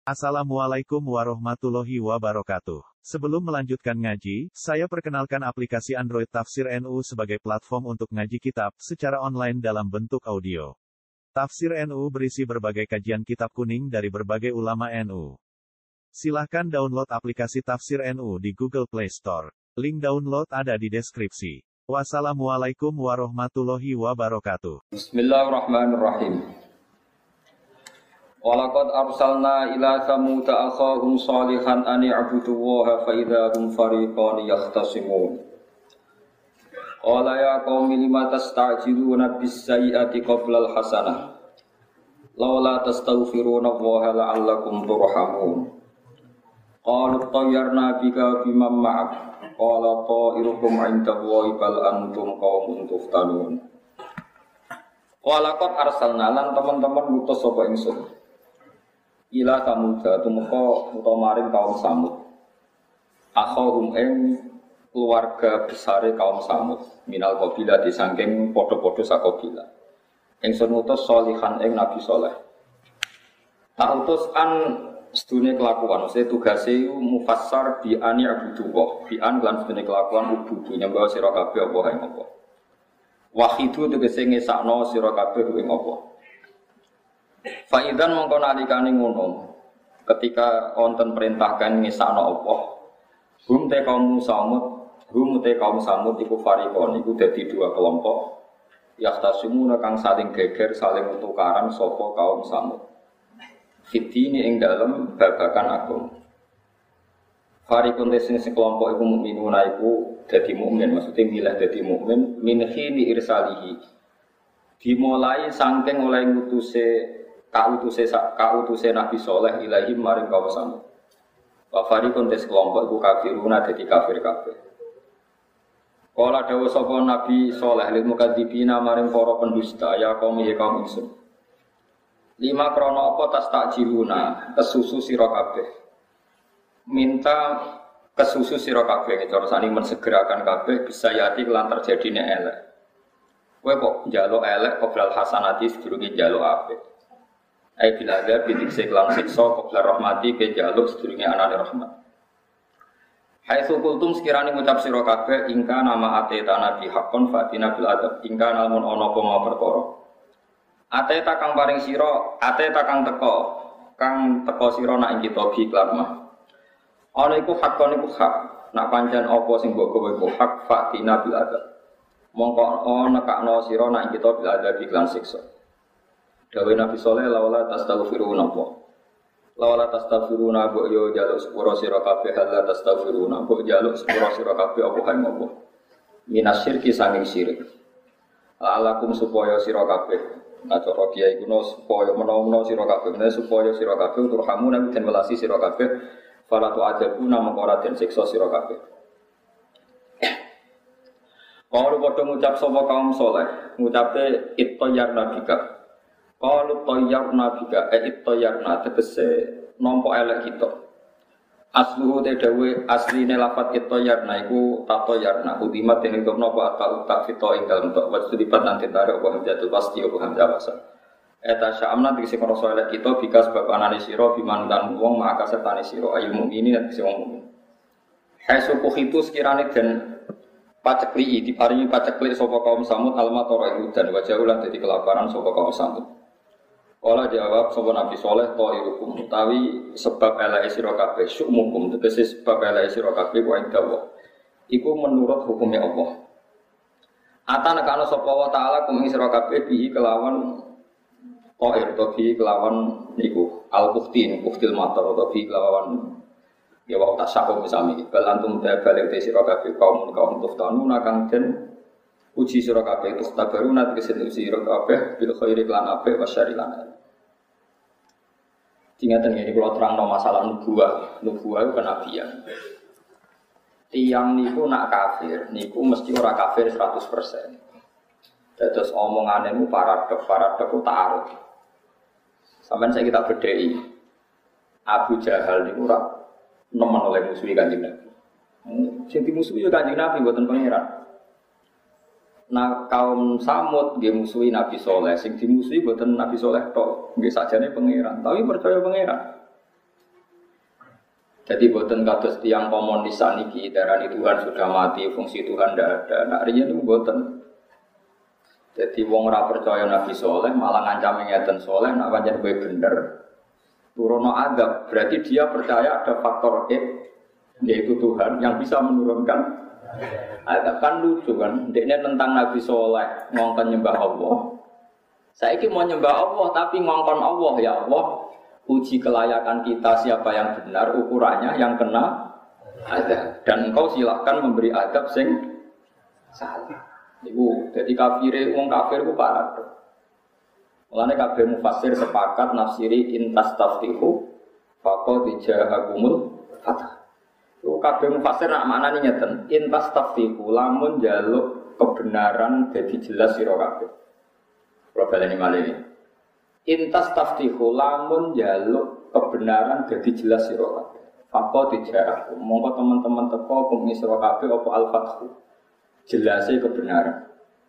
Assalamualaikum warahmatullahi wabarakatuh. Sebelum melanjutkan ngaji, saya perkenalkan aplikasi Android Tafsir NU sebagai platform untuk ngaji kitab secara online dalam bentuk audio. Tafsir NU berisi berbagai kajian kitab kuning dari berbagai ulama NU. Silahkan download aplikasi Tafsir NU di Google Play Store. Link download ada di deskripsi. Wassalamualaikum warahmatullahi wabarakatuh. Bismillahirrahmanirrahim. Walaqad arsalna ila Tsamud akhahum shalihan an i'budullaha fa idza hum fariqan yahtasimun. Qala ya qaumi lima tasta'jiluna bis sayyi'ati qabla al hasanah. Laula tastaghfiruna Allaha la'allakum turhamun. Qalu tayyarna bika biman ma'ak. Qala ta'irukum 'indallahi bal antum qaumun tuftanun. Walaqad arsalna lan teman-teman ngutus sapa ingsun. Ila Samuda tumeka utawa maring kaum Samud. Akhahum ing keluarga besare kaum Samud, minal qabilah disangking padha-padha sakobilah. Ingsun ngutus sholihan ing Nabi Saleh. Tak utus an sedune kelakuan, mesti tugase mufassar bi ani abudullah, bi an lan sedune kelakuan ubudu nyembah sira kabeh apa ing apa. Wahidu tegese ngesakno sira kabeh ing apa. Faidan mongko nalikane ngono ketika wonten perintahkan ngesakno Allah hum te kaum Samud iku fariqon iku dadi dua kelompok yahtasimuna kang saling geger saling tukaran sapa kaum Samud fitini ing dalem babakan agung fariqon sing kelompok iku mukminuna iku dadi mukmin maksudnya milih dadi mukmin min khini irsalihi dimulai saking oleh kautuse Nabi Saleh ilahi maring kaum Samud. Wa fariqun tes kelompok iku kafiruna dadi kafir kabeh. Kala dawuh sapa Nabi Saleh lil mukadzibina maring para pendusta ya kaum ingsun. Lima krana apa tas takjiluna kesusu sira kabeh. Minta kesusu sira kabeh cara sani mensegerakan kabeh bisa yati lan terjadine elek. Kowe kok njaluk elek qoblal hasanati sedurunge njaluk apik. Ai bilaga bidik seklang siksa qabla rahmati ke jaluk sedurunge anane rahmat. Haitsu kultum sekirane ngucap sira kabeh ingka nama ateta nabi hakon fatina bil adab ingka namun ana apa mau perkara. Ateta kang paring sira, ateta kang teko sira nak ing kita bi klamah. Ana iku hakon iku hak, nak pancen apa sing mbok kowe iku hak fatina bil adab. Mongko ana nekakno sira nak ing kita bil adab iklan siksa. Dawai Nabi Saleh lawala tastaghfiruna apa. Lawala tastaghfiruna mbok yo njaluk sepuro sira kabeh hal tastaghfiruna mbok njaluk sepuro sira kabeh apa hae apa. Minasyirki sanging syirik. Alakum supaya sira kabeh. Nah cara kiai kuno supaya menawa sira kabeh supaya sira kabeh turhamu nabi den welasi sira kabeh fala tu ajabuna mengko ora den siksa sira kabeh. Kalau padha ngucap sapa kaum saleh, ngucape ittayar nabika. Kalau toyarna bika, toyarna tegese nompo elek kita. Asluhu tedawe asline lafat toyarna iku tatoyarna. Udimat yang itu nopo atau tak fito ing dalam tok. Wajib lipat nanti tarik waham jatuh pasti waham jawasa. Eta syamna tegese ngrasa elek kita bika sebab anane sira bimantan wong maka sertane sira ayu mukmini lan tegese wong mukmin. Haitsu kuhitu sekirane den pacekli diparingi pacekli sapa kaum Samud almatara iku dan wajah ulah dadi kelaparan sapa kaum Samud. Kala jawab sapa Nabi Saleh ta'irukum utawi sebab eleke sira kabeh syukmukum tegese sebab eleke sira kabeh wa indawa iku menurut hukumnya Allah. Atan kana sapa wa taala kum sira kabeh bihi kelawan ta'ir to bihi kelawan niku al-buktin buktil matar to bihi kelawan ya wa tasakum misami bal antum balik te sira kabeh kaum tuftanuna kang den uji sira kabeh tukhtabaruna tegese uji sira kabeh bil khairi lan apik wasyari lan. Ingatan ini kalau terangno masalah nubuwah itu kenabian. Tiang niku nak kafir, niku mesti ora kafir 100%. Terus omonganmu paradok ku ta'aruf. Sampeyan saya kita bedheki. Abu Jahal niku ora nemen oleh musuhi Kanjeng Nabi. Sing dimusuhi ya Kanjeng Nabi mboten pangeran. Nah kaum Samud dia musuhi Nabi Saleh, sing dimusuhi buatan Nabi Saleh tok, nggih sajane pangeran, tapi percaya pangeran. Jadi boten kados tiyang komunis saniki darani Tuhan sudah mati, fungsi Tuhan ndak ada. Nak riyen niku boten. Jadi wong ora percaya Nabi Soleh malah ngancam ngeten Soleh nak pancen kowe bener. Turono adab, berarti dia percaya ada faktor yaitu Tuhan yang bisa menurunkan adab. Kan lucu kan, ndekne tentang Nabi Soleh ngongkon nyembah Allah. Saiki mau nyembah Allah tapi ngongkon Allah, ya Allah, uji kelayakan kita siapa yang benar, ukurannya yang kena adab. Dan engkau silahkan memberi adab sing salah. Iku jadi kafire wong kafir ku parah. Mulane kabeh mufassir sepakat nafsiri intas taftihu faqad ja'akumul fatah. Iku kabeh mufassir nak maknane ngeten, intas taftihu lamun njaluk kebenaran dadi jelas sira kabeh. Kula baleni malih. Intas taftihu lamun njaluk kebenaran dadi jelas sira kabeh. Faqad ja'akum. Monggo teman-teman teko kumi sira kabeh apa al-fathu. Jelasnya kebenaran.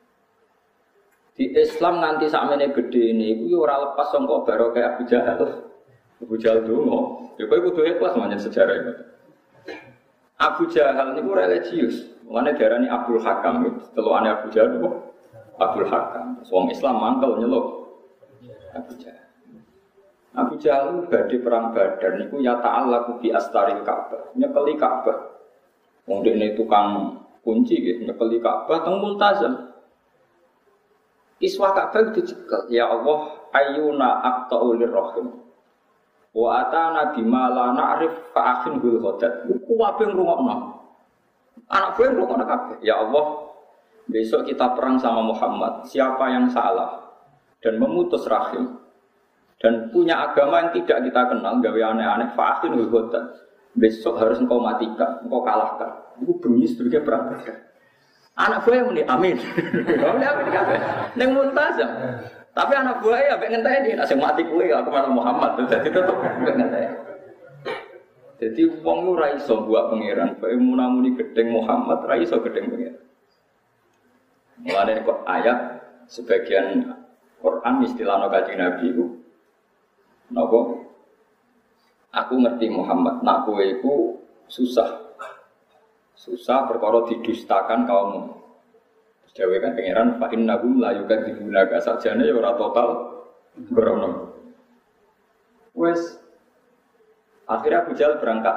Di Islam nanti sakmene gede ini, itu ora lepas sangka barokah Abu Jahal. Abu Jahal dongo, ya kowe kudu ikhlas manjen sejarah itu. Abu Jahal niku religius, mulane diarani Abdul Hakam, telukane Abu Jahal kok Abdul Hakam. Wong Islam mangkel nyeluk Abu Jahal. Abu Jahal badhe perang Badar niku ya ta'allaqu bi astaril Ka'bah, nyekeli Ka'bah. Wong dekne tukang kunci gitu, nyekeli Ka'bah teng Multazam. Iswa Ka'bah dicekel, ya Allah, ayyuna aqta'u lirrahim. Wa atana bima la na'rif fa akhin bil ghadat. Ku wae ngrungokno. Anak gue ngrungokno kabeh. Ya Allah, besok kita perang sama Muhammad. Siapa yang salah dan memutus rahim dan punya agama yang tidak kita kenal, gawe aneh-aneh, fa akhin bil ghadat. Besok harus engkau matikan, engkau kalahkan. Iku bengi sebagai perang Badar. Anak buah muni amin. Amin kabeh. Ning Multazam. Tapi anak buah ya mek ngenteni nek sing mati kuwe aku malah Muhammad. Dadi tetep mek ngenteni. Dadi wong ora iso buat pangeran, bae munamuni gedeng Muhammad ora iso gedeng pangeran. Mulane kok ayat sebagian Quran istilahna Kanjeng Nabi iku napa? Aku ngerti Muhammad, nak kowe iku susah perkara didustakan kaummu. Dewe kan pangeran fa innahum la yukadzibunaka sajane ya ora total grono. Wes akhirnya Abu Jahal berangkat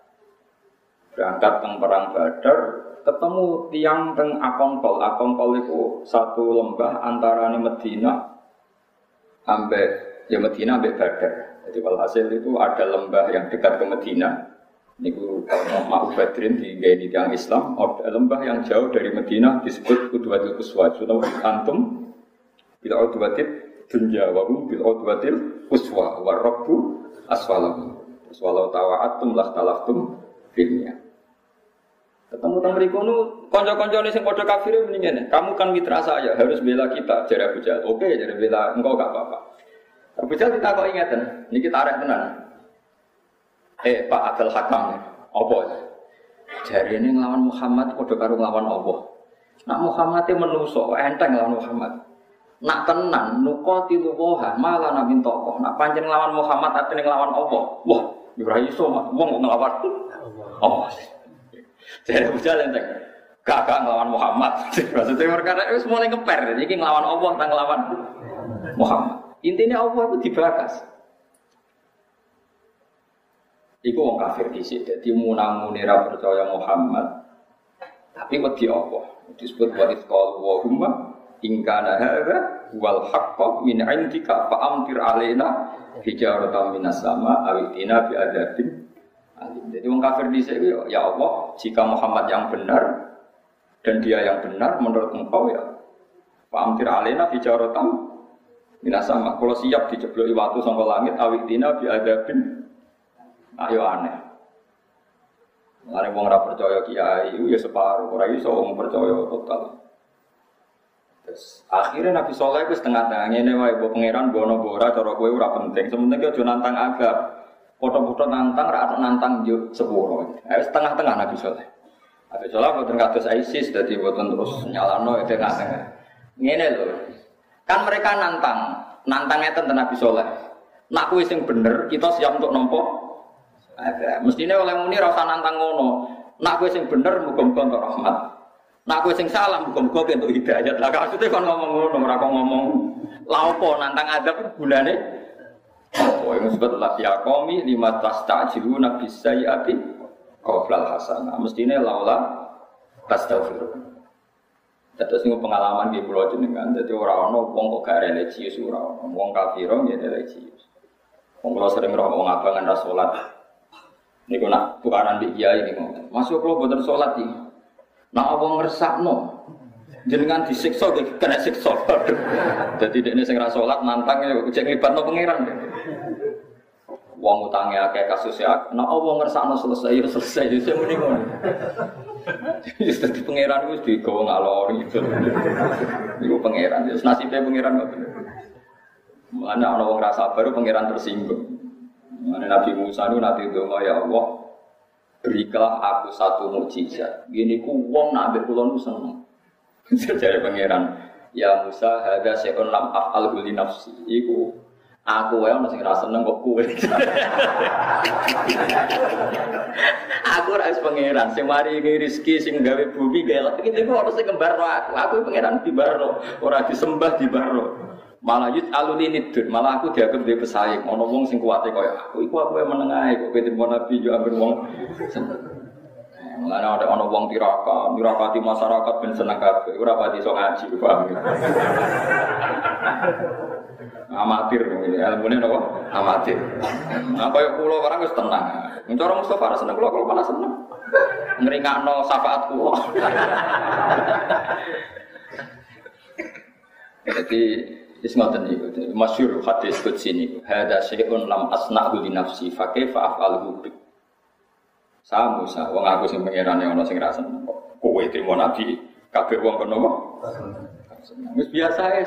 teng perang Badar, ketemu tiang teng Akongkol. Akongkol itu satu lembah antarane Medina ambek Medina ambek Badar. Jadi walhasil itu ada lembah yang dekat ke Medina. Niku kalau Ma'u Badrin di tiang Islam, ada lembah yang jauh dari Medina disebut Udwatil Quswa. Sudah antum bil udwatil dunya wa hum bil udwatil quswa wa rabbu asfalahu. Walau tawa'atum lahtalaftum filnya. Ketemu teng mriku nu kanca-kancane sing padha kafir mendingan. Kamu kan mitra saya, harus bela kita, jare Abu Jahal. Oke, jare bela engkau gak apa-apa. Abu Jahal ditakoki ngeten, niki tarik tenan. Pak Abdul Hakam, apa? Jari ini ngelawan Muhammad, padha karo nglawan Allah. Nak Muhammad itu menungso, enteng nglawan Muhammad. Nak tenan, nuqatilu waha, malah nabi tokoh. Nak pancen nglawan Muhammad, artinya nglawan Allah. Wah, ora iso, wong nglawan Allah. Jari Abu Jahal enteng. Gak nglawan Muhammad. Maksudnya perkara itu mulai ngeper. Jadi nglawan Allah, tak nglawan Muhammad. Intinya Allah itu dibakas. Iku wong kafir dhisik, dadi munamune ra percaya Muhammad. Tapi wedi Allah. Disebut wa itqal wa humma in kana hadza wal haqqu min 'indika fa amtir alaina hijaratan minas sama awitina bi adzabin alim. Jadi wong kafir dhisik ya Allah, jika Muhammad yang benar dan dia yang benar menurut engkau ya fa amtir alaina hijaratan minas sama. Kalau siap dijebloki watu saka langit awitina bi adzabin. Ayo aneh. Mare wong ora percaya kiai ya separuh, ora iso wong percaya total. Terus akhirnya Nabi Saleh wis tengah-tengah ngene wae mbok pangeran bono ora cara kowe ora penting. Sementing aja nantang agak. Foto-foto nantang ra nantang yo sepuro. Wis tengah-tengah Nabi Saleh. Nabi Saleh boten kados ISIS dadi boten terus nyalano tengah-tengah. Ngene lho. Kan mereka nantang ngeten Nabi Saleh. Nak kowe sing bener kita siap untuk nampa Ada. Mestine oleh muni ra usah nantang ngono. Nak kowe sing bener muga-muga entuk rahmat. Nak kowe sing salah muga-muga entuk hidayat. Lah maksude kon ngomong ngono ora kok ngomong lha opo nantang adab gunane. Oh, yang disebut ya qaumi lima tastajiluna bisayyati qablal hasanah. Mestine laula tastaghfirun. Terus ini pengalaman di pulau jenengan, jadi orang wong kok gak religius orang, wong kafirong ya religius. Wong kalau sering orang wong abangan ras sholat, ini kau nak tukaran di kiai ini ngomong, masuk kalau buatan sholat ini, nak wong ngersak no, jenengan disiksa, kena siksa. Jadi ini sing ras sholat nantang ya, cek nglibat no pangeran. Wong utangnya kayak kasusnya, nak wong ngersak no selesai, selesai, jadi mending ngono. Jadi pangeran itu digawa ngalor gitu. Itu pangeran. Jadi nasibnya pangeran nggak benar. Mana orang rasa baru pangeran tersinggung. Mana Nabi Musa itu nanti doa ya Allah, berikanlah aku satu mukjizat. Gini ku wong nak ambil pulau nu seneng. Jadi pangeran, ya Musa ada seorang lam afal huli nafsi. Iku aku wae ono sing ra seneng kok kowe. Aku ora wis pangeran sing maringi rezeki sing gawe bumi gawe lagi iki ono sing kembarno aku. Aku pangeran dibarno, ora disembah dibarno. Malah yut alulinidun, malah aku dianggap dhewe pesaing. Ono wong sing kuwate kaya aku iku wae meneng ae kok ketrimo nabi yo ambil wong. Mulane ana wong tirakati masyarakat ben seneng kabeh. Ora pati iso ngaji, paham. Amatir ini ilmune napa amatir. Nah kaya kula barang wis tenang. Cara Mustofa ra seneng kula malah seneng. Ngringakno syafaat kula. Jadi wis ngoten niku. Masyhur hadis qudsi niku. Hadza syai'un lam asna'hu li nafsi fa kaifa af'aluhu bik. Musa wong aku sing pangerane ana sing ra seneng. Kowe trimo nabi kabeh wong kono kok. Wis biasa ae.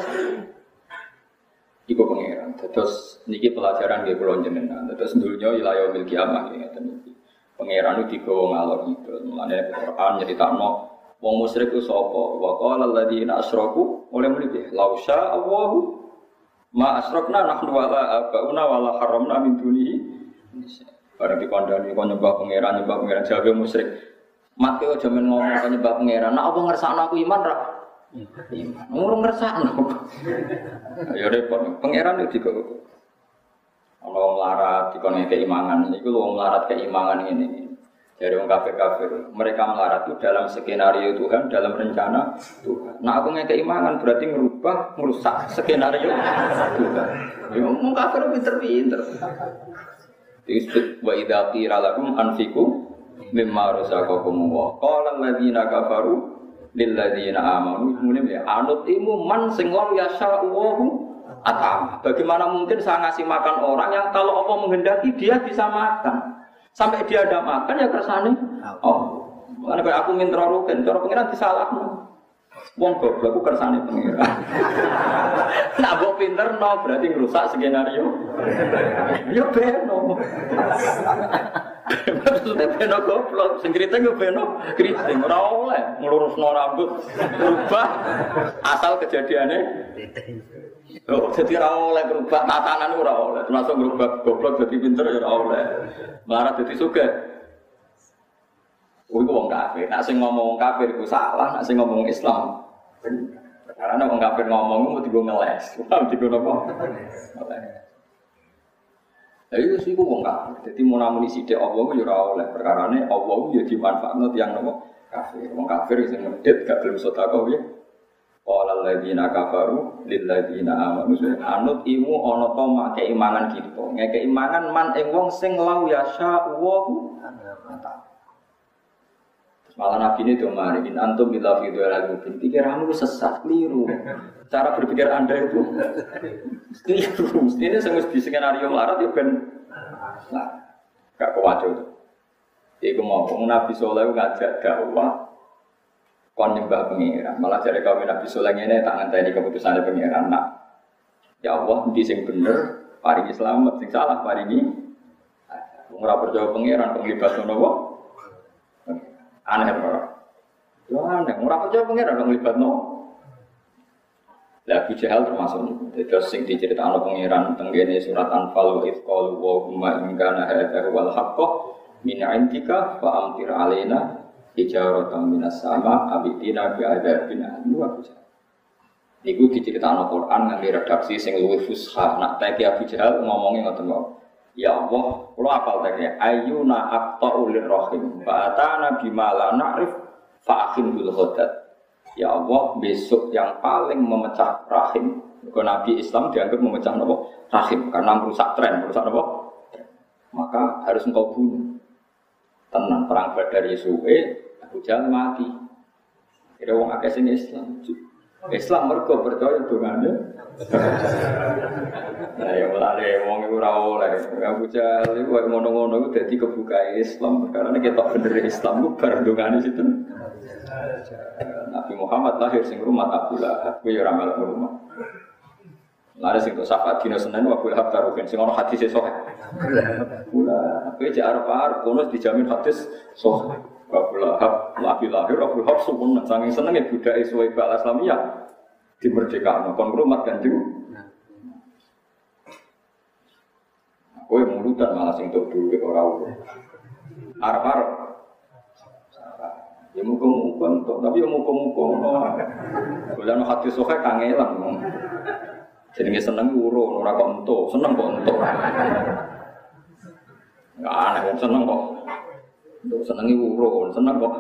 Iku pangeran. Terus niki pelajaran nggih kula jenengan. Terus dunya ila yaumil kiamah ngeten iki. Pangeran iki digawa ngalor itu. Mulane Quran nyeritakno wong musyrik ku sapa? Wa qala alladziina asyraku oleh mriki law syaa Allahu ma asyrakna nahnu wala abauna wala haramna min dunihi. Barang dikandani kon nyembah pangeran jabe musyrik. Mak yo aja men ngomong kon nyembah pangeran. Nek apa ngersakno aku iman ra? Ngurung ngersakno. Ya repot, pangeran itu juga. Kalau melarat dikone keimangan, itu lo melarat keimangan ini. Dari orang kafir, mereka melarat itu dalam skenario Tuhan, dalam rencana Tuhan. Nah aku ngekei keimangan berarti merubah, merusak skenario Tuhan. Ya orang kafir pinter-pinter. Disebut wa idza qila lakum anfiqu mimma razaqakum wa qala alladziina kafaru lil ladziina aamanu anut imu man sing law yasha'u atam. Bagaimana mungkin saya ngasih makan orang yang kalau Allah menghendaki dia bisa makan. Sampai dia ada makan ya kersane. Oh. Karena kayak aku minta rugen, cara pengiran disalahno. Wong goblok aku kersane pengiran. Nak mbok pinter no berarti ngrusak skenario. Ya beno. Maksudnya beno goblok, sing kriting yo beno kriting ora oleh nglurusno rambut berubah asal kejadiannya. Oh, jadi ora oleh berubah tatanan ora oleh, termasuk berubah goblok jadi pinter ya ora oleh. Marat jadi sugih. Oh, itu wong kafir. Nak sing ngomong wong kafir iku salah, nak sing ngomong Islam bener. Karena wong kafir ngomong mesti go ngeles. Paham digo napa? Lah iku sih wong kafir. Dadi munamuni sithik Allah yo ora oleh. Perkarane Allah yo dimanfaatno tiyang napa? Kafir. Wong kafir sing medhit gak gelem sedekah piye? Qala alladziina kafaru lil ladziina aamanu anut imu ana ta mak keimangan kita. Ngeke imangan man ing wong sing law yasha wa malah Nabi ini tuh mari in antum bila video lagu pikiranmu sesat keliru. Cara berpikir Anda itu keliru. Ini semua di skenario melarat ya ben gak kewajo. Iku mau Nabi Soleh ngajak dakwah kon nyembah pengiran. Malah dari kaum Nabi Soleh ini tak ngenteni keputusannya pengiran. Nak ya Allah di sing bener paringi selamat, sing salah paringi ora percaya pengiran penglibat ngono. Aneh ora. Yo aneh, ora percaya pengiran nglibatno. Lah Abu Jahal termasuk niku. Terus sing diceritakno pangeran tenggene surat Anfal wa id qalu wa huma in kana hadza wal haqq min 'indika fa amtir alaina hijaratan minas sama abitina bi adzabin alim wa Abu Jahal. Niku diceritakno Quran nganggo redaksi sing luwih fusha. Nak teke Abu Jahal ngomongi ngoten wae. Ya Allah, kula apal teke ayyuna aqta'u lirrahim fa atana bima la na'rif fa akhin bil ghadat. Ya Allah, besok yang paling memecah rahim. Kalau Nabi Islam dianggap memecah rahim karena merusak tren, merusak maka harus engkau bunuh. Tenang perang Badar Yesuwe, Abu Jahal mati. Kira wong akeh sing Islam. Islam mergo percaya dongane. Nah, ya mulane wong iku ora oleh. Abu Jahal iku ngono-ngono iku dadi kebuka Islam karena ketok bener Islam ku bar dongane situ. Nabi Muhammad lahir sing rumah Abu Lahab, kuwi ora melok rumah. Lare sing kok syafaat dina Senin Abu Lahab karo sing ono hadis sahih. Abu Lahab kuwi cek arep-arep kono dijamin hadis sahih. Abu Lahab lahir Abu Lahab sumpun saking senenge budake suwe bal Islamiyah dimerdekakno kon rumah Kanjeng. Kowe mulutan malah sing tok duwe ora urip. Arep-arep ya muka-muka untuk, tapi ya muka-muka bulan hati sokai kangelan jadi seneng urun, orang kok untuk, seneng kok untuk nggak aneh, seneng kok untuk senengi urun, seneng kok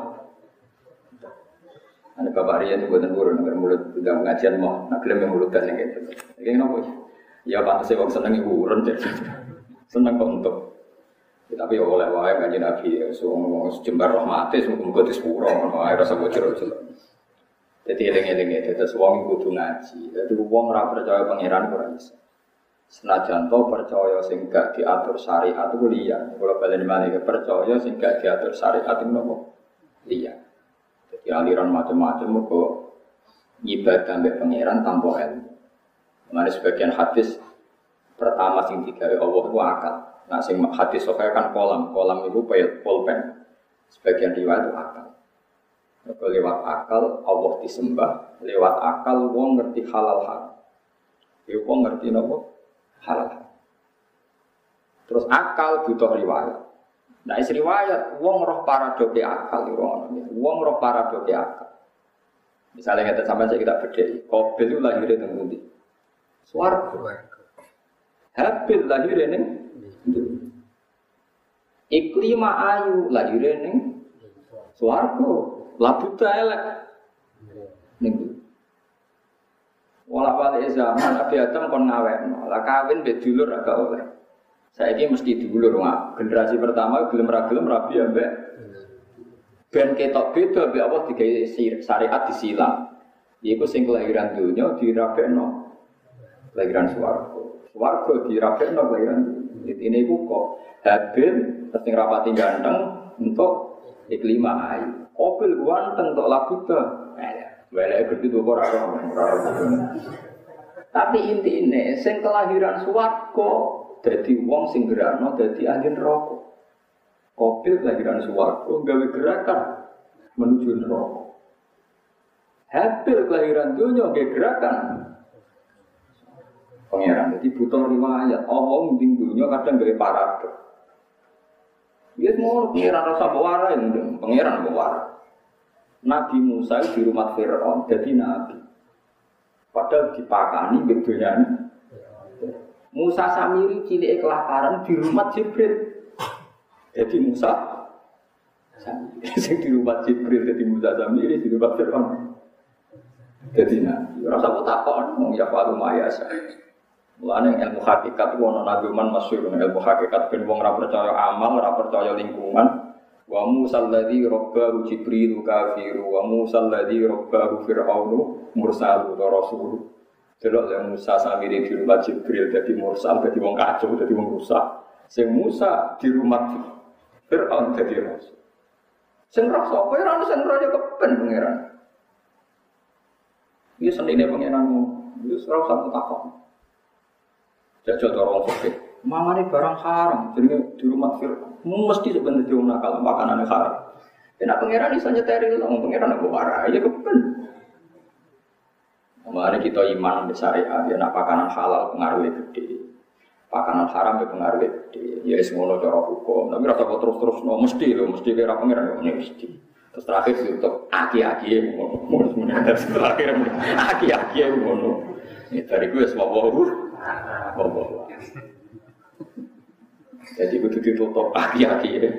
ada bapak Rian itu buatan urun, agar mulut udah pengajian mau, nak klaim yang mulut dan yang gitu kayak gini ya pantasnya kok senengi urun seneng kok untuk tapi oleh wae kanjeng Nabi wong jembar rahmate muga disepuro ngono ae rasa bocor-bocor. Dadi eling-eling terus wong kudu ngaji. Dadi wong ora percaya pangeran ora iso. Senajan to percaya sing gak diatur syariat itu liya. Kalau balen malih percaya sing gak diatur syariat itu nopo? Liya. Dadi aliran macam-macam mergo ibadah mbek pangeran tanpa ilmu. Mane sebagian hadis pertama sing digawe Allah itu akal. Nah, sing hadis sahih kan kolam itu pulpen. Sebagian riwayat itu akal. Lewat akal Allah disembah, lewat akal wong ngerti halal haram. Ya wong ngerti napa? Halal. Terus akal butuh riwayat. Nah, is riwayat wong roh paradoke akal iku ngono. Wong roh paradoke akal. Misalnya kita sampai kita bedheki, Qabil itu lahir ning pundi? Swarga. Habil lahir ning Iklima ayu lahir ning swarga, labuta elek ning. Wala-wale zaman Nabi Adam kon ngawekno, lah kawin mbek dulur agak oleh. Saiki mesti dulur generasi pertama gelem ra gelem rabi ambek ben ketok beda mbek apa digawe syariat disilang. Iku sing kelahiran dunya dirabekno kelahiran swarga. Swarga dirabekno kelahiran dunya. Ini iku kok Habil sing rapati ganteng untuk iklima ayu. Qabil ganteng untuk labuta. Weleke gede to ora tapi intine sing kelahiran swarga dadi wong sing gerakno dadi ahli neraka. Qabil kelahiran swarga gawe gerakan menuju neraka. Habil kelahiran dunya gawe gerakan pangeran. Jadi butuh riwayat. Allah mending dunia kadang gawe paradok. Dia mau pangeran rasa bawara yang pangeran bawara. Nabi Musa di rumah Fir'aun jadi nabi. Padahal dipakani bedonya. Musa Samiri cilik kelaparan di rumah Jibril. Jadi Musa Samiri di rumah Jibril jadi Musa Samiri di rumah Fir'aun. Jadi nabi. Rasa takon wong ya falu mayasa. Mulane ilmu hakikat ono nabiman masyhur ilmu hakikat ben wong ora percaya amal, ora percaya lingkungan. Wa Musa alladzi rabbahu Jibril kafiru wa Musa alladzi rabbahu Fir'aunu mursalu wa rasul. Delok yang Musa Samiri di rumah Jibril dadi mursal, dadi wong kacau, dadi wong rusak. Sing Musa di rumah Fir'aun dadi rasul. Sing rasa apa ora ono sing royo kepen pangeran. Iki senine pangeranmu, wis ora usah takok. Jajal orang fakir, mamane barang haram, jadi di rumah Fir'aun mesti sebenarnya dia nakal makanan yang haram. Enak pangeran bisa nyeteril, pangeran aku marah, ya kepen. Mulane kita iman be syariat, ya nak pakanan halal pengaruhnya gede. Pakanan haram ya pengaruhnya gede. Ya wis ngono cara hukum. Tapi rasa kok terus-terus mesti kira pengiran mesti. Terus terakhir untuk aki-aki ngono. Terakhir aki-aki ngono. Ini dari gue semua bawa. Jadi begitu ditutup aki-aki ya.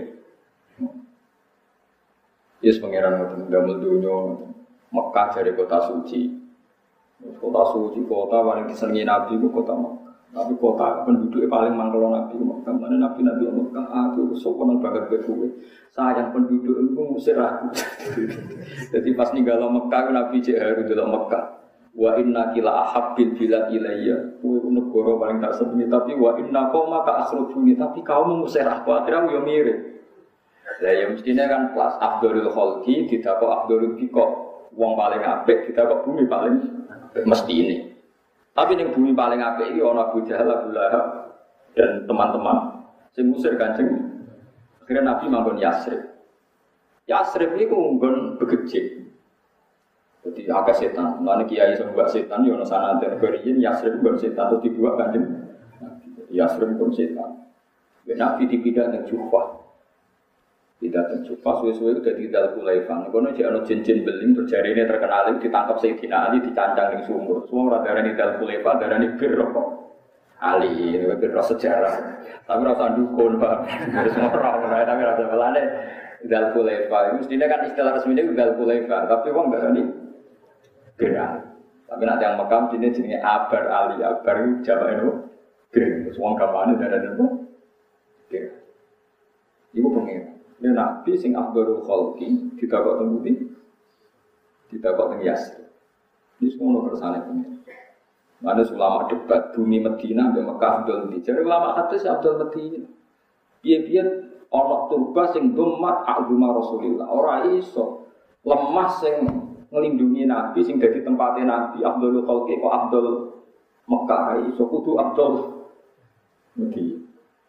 Yes pengiran ngoten damel dunya Mekah dari kota suci. Kota suci, kota paling disenangi Nabi itu kota Mekah. Tapi kota penduduknya paling mangkelo Nabi Mekah. Mana Nabi Mekah, aku sopan banget berkuwe. Sayang penduduk itu ngusir aku. Jadi pas ninggal Mekah, Nabi Jaharu dalam Mekah. Wa inna kila ahabbil bila ilayya. Kuwe negara paling tak senengi. Tapi wa inna koma ka asrujuni. Tapi kau mengusir aku. Akhirnya aku yang mirip. Lah ya mestinya kan kelas Abdul Khalqi tidak kok Abdul Biko. Wong paling apik kita kok bumi paling mesti ini. Tapi yang bumi paling apik ini ana Abu Jahal, Abu Lahab dan teman-teman. Sing ngusir Kanjeng. Akhirnya Nabi manggon Yasrib. Yasrib iku nggon begejik. Jadi agak setan. Mulane kiai sing mbak setan yo ana sanate beriyin Yasrib mbak setan terus dibuat Kanjeng. Yasrib pun setan. Nabi dipindah nang Jufah. Tidak tercupas, suwe-suwe udah di dalam Kulaifah. Kono jek ana cincin beling berjari ini terkenal ditangkap Sayyidina Ali dicancang ning sumur. Semua ora darani dalam Kulaifah, darani bir kok. Ali, ini bir sejarah. Tapi rasa dukun, Pak. Wis ora ora tapi rasa belane dalam Kulaifah. Mestinya kan istilah resminya dalam Kulaifah, tapi wong darani bir. Tapi nanti yang makam sini jenenge Abar Ali, Abar Jawa itu bir. Wong gamane darani apa? Bir. Iku pengen. Ini Nabi sing Abdul Khalqi ditakok teng pundi? Ditakok teng Yasrib. Ini semua kersane pengen. Mana ulama debat bumi Madinah mbek Mekah Abdul Madinah. Jare ulama hadis Abdul Madinah. Piye-piye ana turba sing domat agama Rasulullah. Ora iso lemah sing nglindungi Nabi sing dadi tempate Nabi Abdul Khalqi kok Abdul Mekah iso kudu Abdul Madinah.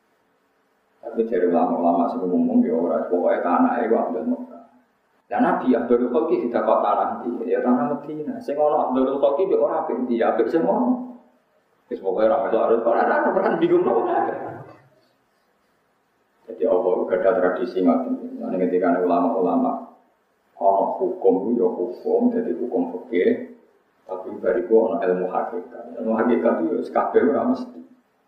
Tapi dari ulama-ulama sebelum ngomong ya orang pokoknya tanah itu Abdul Mekah. Dan Nabi Abdul Khalqi tidak kau tanah di, ya tanah Medina. Saya ngono Abdul Khalqi be orang apik di, apik semua. Wis pokoknya ramai harus orang pernah bingung loh. Jadi Allah ada tradisi ngoten. Nek ketika ulama-ulama ono hukum ya hukum, jadi hukum fikih. Tapi bariku ono ilmu hakikat. Ilmu hakikat itu kabeh ora mesti.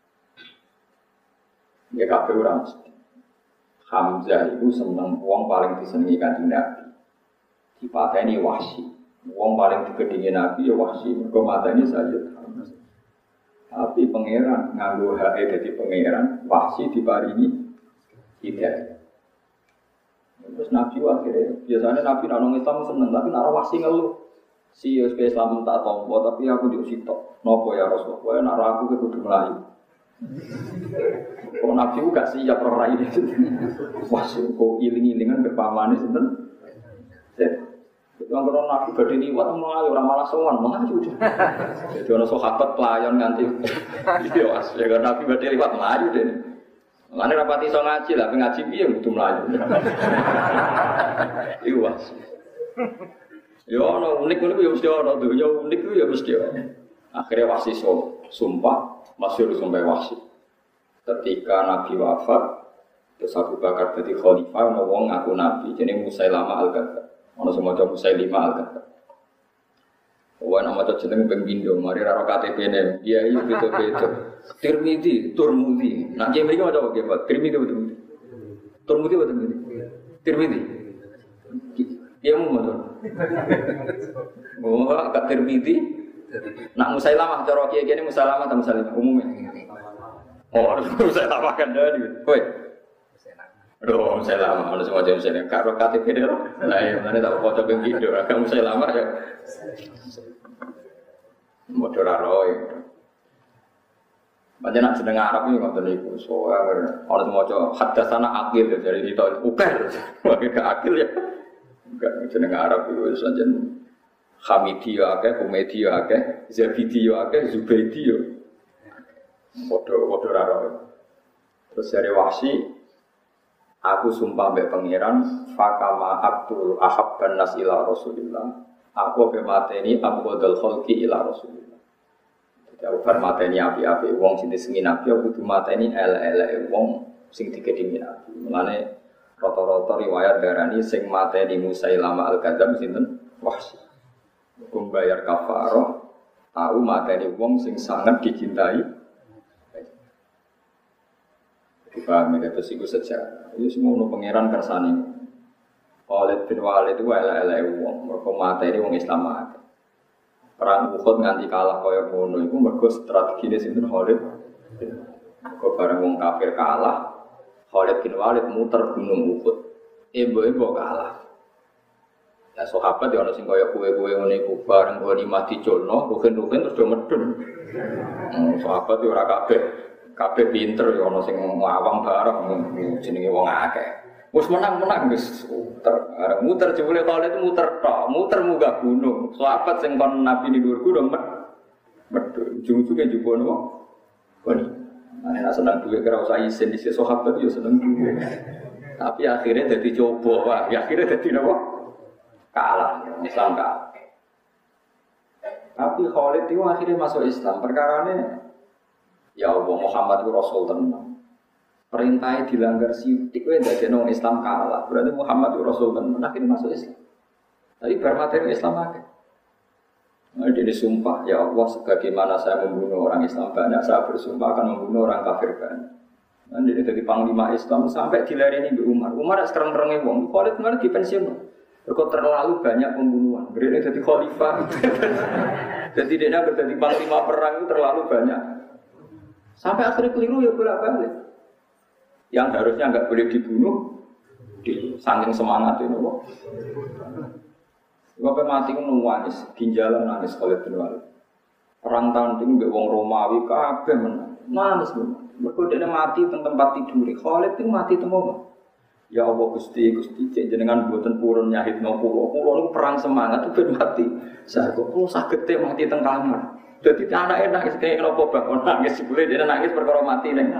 Ya kabeh ora mesti. Hamzah itu seneng wong paling disenengi Kanjeng Nabi. Dipateni Wahsy. Wong paling digedhingi Nabi ya Wahsy, mergo mateni Sayyid Hamzah. Tapi pangeran nganggo hake dadi pangeran, Wahsy diparingi hidayah. Terus Nabi akhirnya biasanya Nabi nang Islam seneng, tapi nek Wahsy ngeluh. Si Islam tak tompo, tapi aku diusitok. Napa ya Rasulullah? Nek aku kudu mlayu. Kalau Nabi juga siap roh ini, wah kok iling-ilingan berpamane sinten. Itu kalau Nabi badhe liwat mlayu ora malah sowan, mlayu. Jadi ana sahabat pelayan nganti iya Mas, ya Nabi badhe liwat mlayu dene. Mane rapati iso ngaji lah, ngaji piye kudu mlayu. Iya Mas. Ya ana unik-unik ya mesti ana, dunya unik ya mesti ana. Akhirnya Wahsy sumpah masyhur sampai Wahsy. Ketika Nabi wafat, terus Abu Bakar jadi khalifah, ana wong ngaku nabi, jenenge Musailamah al-Kadzdzab. Ana sing maca Musailimah al-Kadzdzab. Wong ana maca jeneng ping pindho, mari ra KTP-ne. Iya iya beda-beda. Tirmidzi, Turmudi. Nak jek mriki maca apa Pak? Tirmidzi betul. Turmudi betul. Tirmidzi. Iya mau maca. Oh, Kak Tirmidzi. Nak Musailamah cara kiye-kiye Musailamah ta Musailimah umumnya. Oh, Musailamah kan dari. Kowe. Aduh, Musailamah ono sing wae jenenge karo KTP lho. Lah iya, mane tak foto ping video, agak Musailamah ya. Modho ra roe. Panjenengan jeneng Arab iki ngoten niku. Soale ono sing maca hadatsana akil dari itu ukir. Wae gak akil ya. Enggak jeneng Arab iku wis anjen Hamidi yo akeh, Humedi yo akeh, Zabidi yo akeh, Zubaidi yo. Padha ra roe. Terus dari Wahsy, aku sumpah mbek pangeran, fakama abdul ahabban nas ila Rasulillah. Aku be mateni abdul khalqi ila Rasulillah. Jadi aku bar mateni api-api wong sing disengi Nabi aku kudu mateni elek-elek wong sing digedhingi Nabi. Mulane rata-rata riwayat darani sing mateni Musailama al-Kadzdzab sinten? Wahsy. Hukum bayar kafarah tahu mateni wong sing sangat dicintai. Dipahami kata siku sejarah. Itu semua no pangeran kersane. Khalid bin Walid itu elek-elek wong, mergo mateni wong Islam akeh. Perang Uhud nganti kalah kaya ngono iku mergo strategine sinten Khalid. Kok bareng wong kafir kalah, Khalid bin Walid muter gunung Uhud. Ebo-ebo kalah. Ya sahabat ya ana sing kaya kowe-kowe ngene iku bareng goni mati culno, rugen-rugen terus do medun. Sahabat yo ora kabeh pinter ya ana sing ngawang bareng jenenge wong akeh. Wis menang wis muter jebule Khalid muter tok, muter munggah gunung. Sahabat sing kon Nabi ni dhuwur gunung medun. Ujung-ujunge njupuk napa? Goni. Nek seneng duwe kira usah isin dhisik sahabat yo seneng duwe. Tapi akhirnya dadi coba, wah, akhirnya dadi napa? Kalah, Islam kalah. Tapi Khalid itu akhirnya masuk Islam. Perkarane ya Allah Muhammad itu Rasul tenan. Perintahnya dilanggar sidik kowe ndadekno Islam kalah. Berarti Muhammad itu Rasul tenan akhirnya masuk Islam. Tapi bar materi Islam akeh. Nah, dia disumpah, ya Allah sebagaimana saya membunuh orang Islam banyak, saya bersumpah akan membunuh orang kafir banyak. Nah, dia jadi panglima Islam sampai dilareni Mbak Umar. Umar sekarang-sekarangnya wong. Khalid malah dipensiun. Kok terlalu banyak pembunuhan. Berinya jadi khalifah. Jadi dia nak jadi panglima perang itu terlalu banyak. Sampai akhirnya keliru ya bolak-balik. Yang harusnya enggak boleh dibunuh, saking semangat itu. Bapak mati kan nangis, ginjalan nangis Khalid bin Walid. Perang tanding mbek wong Romawi kabeh menang. Nangis bener. Mergo dene mati teng tempat tidur. Khalid itu mati teng omah. Ya Allah Gusti jenengan mboten purun nyahidno kula niku perang semangat ben mati. Saya kok kula saged mati teng kamar. Dadi anake nangis kaya napa bakon nangis jebule dene nangis perkara mati ning.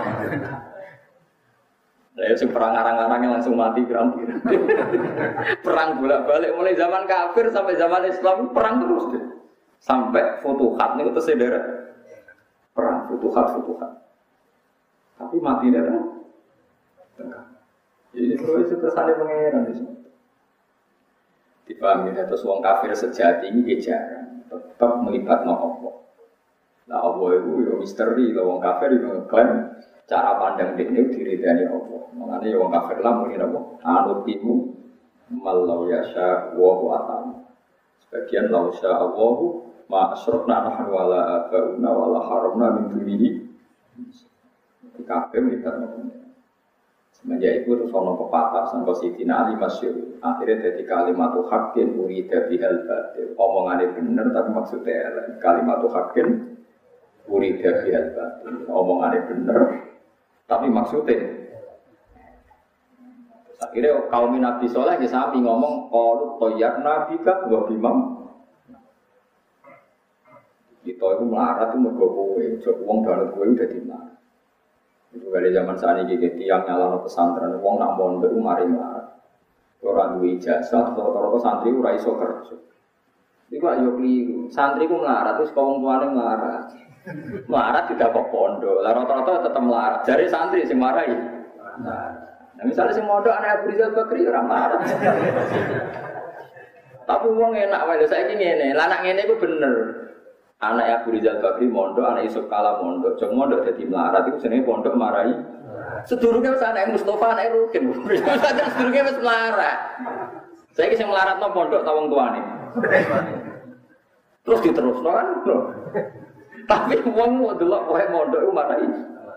Lah sing perang arang-arang langsung mati pirang-pirang. Perang bolak-balik mulai zaman kafir sampai zaman Islam perang terus deh. Sampai Futuhat niku terus sederek. Perang Futuhat. Tapi matine kan tengah. Jadi terus itu kesannya pengeran di sini. Dipahami terus wong kafir sejati ini jarang tetap melibatkan Allah. Nah Allah itu ya misteri, wong kafir itu ngeklaim cara pandang dia itu diridani Allah. Makanya wong kafir lah mungkin apa? Anutimu malau yasha wa atam. Sebagian lau sya Allahu ma asyrafna nahnu wala abauna wala haramna min dunihi. Kafir melibatkan Allah. Semenjak itu terus ono pepatah sampai Sidina Ali masyhur. Akhirnya jadi kalimatu haqqin urida bihal batil. Omongannya bener tapi maksudnya lain. Kalimatu haqqin urida bihal batil. Omongannya bener tapi maksudnya. Akhirnya kaum Nabi Saleh ke sapi ngomong qalu tayyarna bika wa bimam. Kita itu melarat itu mergo kowe, wong danut kowe udah dimana. Itu kali zaman saat ini tiang nyala pesantren, wong nak mondok mari melarat. Orang duwe ijazah, rata-rata santri ora iso kerja. Iku ayo keliru. Santri ku melarat terus wong tuane melarat. Melarat tidak kok pondok. Lah rata-rata tetep melarat. Jare santri sing marahi. Nah, misalnya sing mondok anak Abu Rizal Bakri ora melarat. Tapi wong enak wae lho saiki ngene. Lah anak ngene iku bener. Anak Abu Rizal Bakri mondok, anak Yusuf Kala mondok. Jeng mondok dadi melarat iku jenenge pondok marahi. Sedurunge wis anak Mustofa, anak Rukin. Sedurunge wis melarat. Saiki sing melaratno pondok ta wong tuane. Terus diterusno kan. Tapi wong mau delok wae mondok iku marahi.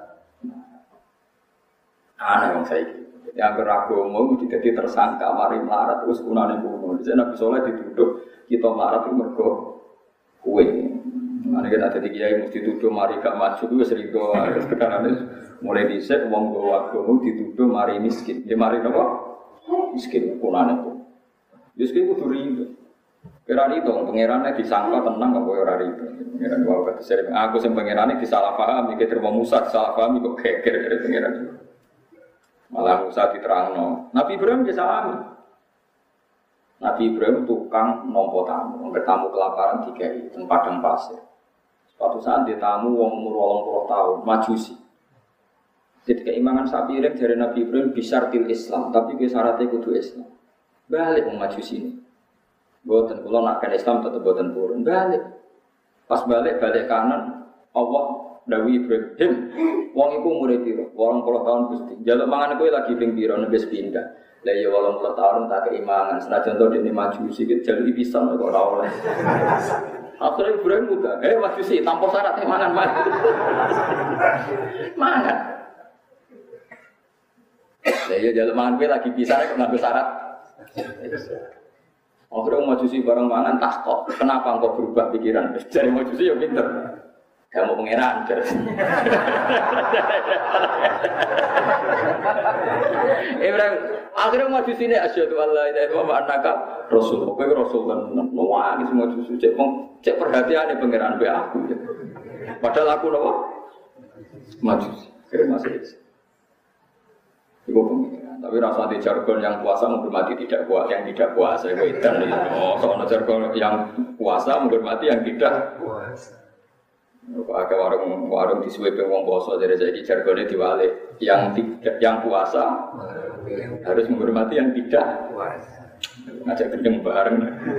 Ana wong saiki. Yang beragama itu jadi tersangka mari melarat terus kunane kuno. Jadi Nabi Saleh dituduh kita melarat itu mergo kue. Mana kita ada kiai mesti dituduh mari gak maju itu sering doa. Sekarang mulai dhisik wong gowo agama dituduh mari miskin. Ya mari napa? Miskin kunane itu. Miskin kudu rido. Kira itu pangerane disangka tenang kok ora rido. Pangeran wae kata sering aku sing pangerane disalah paham iki terima Musa salah paham kok geger dari pangeran. Malah Musa diterangno. Nabi Ibrahim ya sami. Nabi Ibrahim tukang nompo tamu, tamu kelaparan dikai teng padang pasir. Suatu saat dia tamu wong umur 80 tahun, Majusi. Jadi keimangan sapi iring dari Nabi Ibrahim bisyartil Islam, tapi syaratnya kudu Islam. Balik wong Majusi ini. Boten kula nak kan Islam tetep boten purun. Balik. Pas balik kanan, Allah dawuh Ibrahim, wong iku umure piro? 80 tahun Gusti. Jaluk mangan kowe lagi ping piro nebes pindah. Lah ya 80 tahun tak keimangan, senajan to dene Majusi iki jaluk pisan kok ora oleh. Akhirnya Ibrahim muda, Majusi tanpa syarat mangan mati. Mangan. Lah ya jaluk mangan kowe lagi pisan kok nganggo syarat. Akhirnya Majusi bareng mangan tak kok. Kenapa engkau berubah pikiran? Jadi Majusi ya pinter. Kamu pangeran. Ibrahim akhirnya Majusi ini asyhadu alla ilaha illallah wa annaka rasul. Kowe rasul kan. Nangis Majusi cek perhatiane pangeran be aku. Padahal aku napa? Majusi. Kira masih Ibu pengiran, tapi rasa di jargon yang puasa menghormati tidak puasa, yang tidak puasa itu edan. Soalnya jargon yang puasa menghormati yang tidak puasa. Ada warung di Sweden wong poso dari jadi jargonnya diwalik, yang puasa harus menghormati yang tidak puasa. Ngajak gendeng bareng.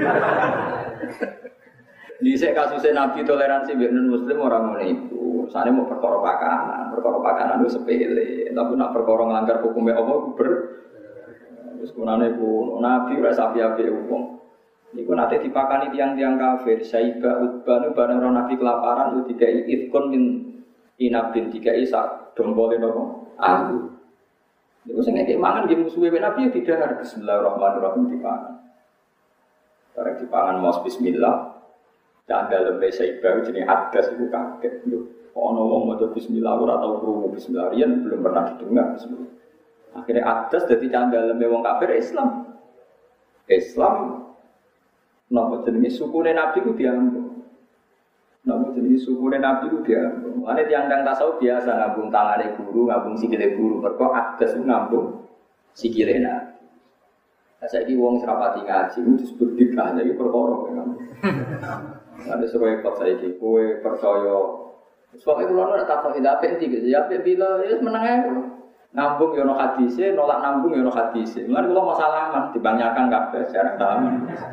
Di kasusnya Nabi toleransi non Muslim orang ngono itu. Sana mau perkara pakanan itu sepele. Tapi nak perkara ngelanggar hukumnya Allah terus kunane ku Nabi ora sapi-api wong. Niku nate dipakani tiang-tiang kafir, Saiba Utbah nu bareng Nabi kelaparan itu dikai ifkon min inabin dikai sak dombole napa? Aku. Niku sing nek mangan nggih musuhe Nabi tidak bismillahirrahmanirrahim dipangan. Bareng dipangan mos bismillah. Dan dalam bahasa Ibrani jenis adas itu kaget. Ono wong maca bismillah ora tau krungu bismillah riyen belum pernah didengar bismillah. Akhirnya adas dadi candaleme wong kafir Islam. Islam napa jenenge sukune Nabi ku diambung. Napa jenenge sukune Nabi ku diambung. Ane tiyang-tiyang tasawuf biasa ngambung tangane guru, ngambung sikile guru, mergo adas ku ngambung sikile Nabi. Saiki wong serapati ngaji itu disebut bid'ah, iki perkara kan. Ada sesuai kok saiki kowe percaya soalnya kalau nak takut tidak penting gitu, ya bila ya menengah nambung yono hadise, nolak nambung yono hadise. Mungkin kalau masalah dibanyakan kabeh jarang salaman.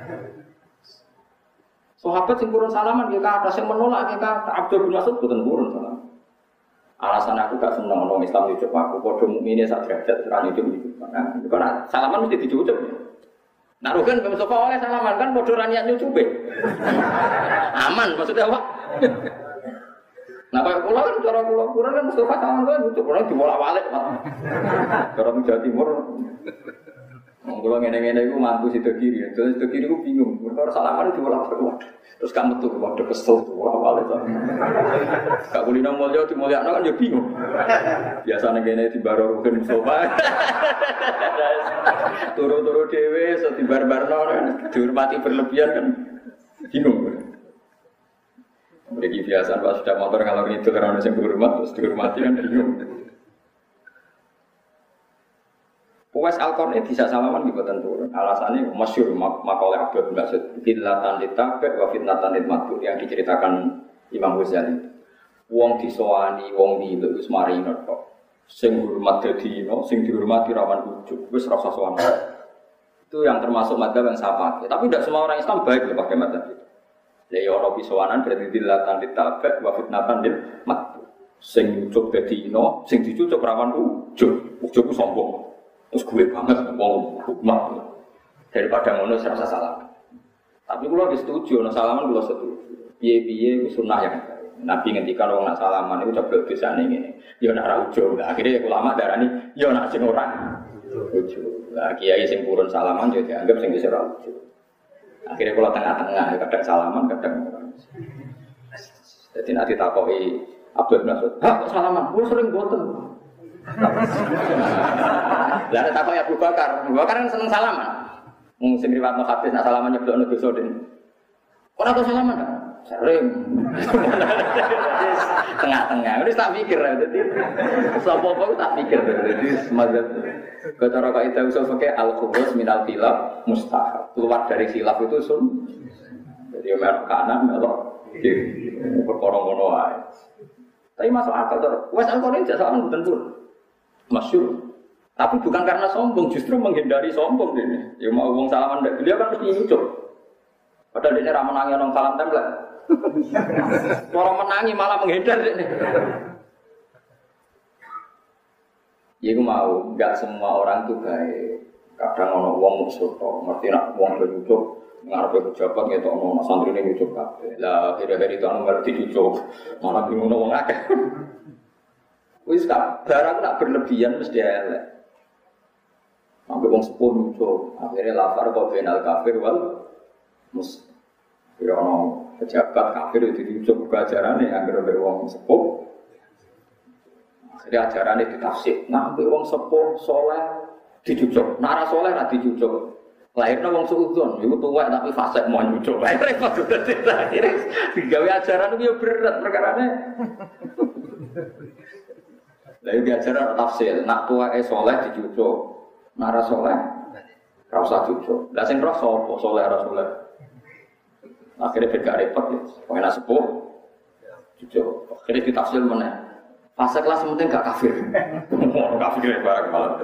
Sahabat sing purun salaman dia kata, sing menolak kita Abdul bin Mas'ud boten purun salaman. Alasan aku gak seneng orang Islam diucap aku, padha mukmine sak derajat ora nyucuk iki. Nah, kalau salaman mesti dicucuk. Nah, rugen Pak Mustafa oleh salaman kan padha ra niat nyucupe. Aman maksudnya apa? Nah, kalau pulau kan cara pulau kurang kan Mustafa sama kan butuh orang dibolak-balik, Pak. Orang Jawa Timur, kalau ngene-ngene itu mantu situ kiri, terus situ kiri itu bingung. Mereka salaman dibolak-balik, terus kamu tuh waduh kesel tuh bolak-balik. Kak Kulina Mulya dimulyakno kan ya bingung. Biasanya ngene di baro rugen Mustafa. Turu-turu dhewe, so di bar-barno dihormati berlebihan kan bingung. Mereka biasa pas sudah motor kalau itu karena ada yang berhormat terus dihormati kan bingung. Uwais Al-Qarni bisa salaman di Badan Turun. Alasannya masyhur makalah Abdul bin Mas'ud fitnatan ditabe wa fitnatan ditmatu yang diceritakan Imam Ghazali. Wong disowani, wong diluk wis marino kok. Sing hormat dadino, sing dihormati rawan ujug, wis rasa sowan. Itu yang termasuk madzhab yang saya pakai. Tapi tidak semua orang Islam baik loh pakai madzhab itu. Ya ono pisowanan berarti dilatan ditabek wa fitnatan dil matu. Sing ujug dadino, sing dicucuk rawan ujug. Ujug ku sombong. Terus gue banget wong hukmah. Daripada ngono serasa salah. Tapi kula wis setuju ono salaman kula setuju. Piye-piye ku sunah yang Nabi ngendikan wong nak salaman iku coba dosane ngene. Ya nak ra ujug. Akhire ulama darani ya nak sing ora ujug. Lah kiai sing purun salaman yo dianggap sing wis ora ujug. Akhirnya kalau tengah-tengah, kadang salaman, kadang orang. Jadi nanti takoki Abdul bin Mas'ud, kok salaman? Gue sering boten. Lalu takoki Abu Bakar kan seneng salaman. Mungkin riwayat hadis nak salaman nyeblokno dosa den. Ora kok salaman? Sering. Tengah-tengah. Ini tak pikir jadi. Sapa-sapa tak pikir jadi semacam cara kaidah usul fikih al-khuruj minal khilaf mustahab. Keluar dari khilaf itu jadi melok kanan melok kiri. Perkara ngono wae. Tapi masuk akal to. Wes Al-Qur'an tidak salah mboten pun. Masyhur. Tapi bukan karena sombong, justru menghindari sombong ini. Ya mau wong salaman ndak beliau kan mesti nyucuk. Padahal dia ra menangi nang salam tempel. Orang menangi malah menghindar ini. Ya aku mau, enggak semua orang itu baik. Kadang ono wong musuh to, ngerti nak wong nyucuk ngarepe pejabat ngetok ono santrine nyucuk kabeh. Lah akhir-akhir itu ono ngerti nyucuk, malah bingung wong akeh. Wis barang nak berlebihan mesti elek. Sampai wong sepuh nyucuk, akhirnya lafar kok benal kafir wal mus. Ya ono pejabat kafir itu diucap ajarannya agar oleh wong sepuh. Jadi ajarannya ditafsir. Nah, wong sepuh soleh dicucuk. Nara soleh lah dicucuk. Lahirnya wong suudon, itu tua tapi fasik mau nyucuk. Lahirnya repot sudah tidak. Ini digawe ajaran itu berat perkaranya. Lalu di ajaran tafsir. Nak tua soleh dicucuk. Nara soleh rasa cucuk. Lah sing roh sapa soleh rasa soleh. Akhirnya beda repot ya, pengen sepuh, jujur. Akhirnya ditafsir mana? Fase kelas penting gak kafir, orang kafir barang malam.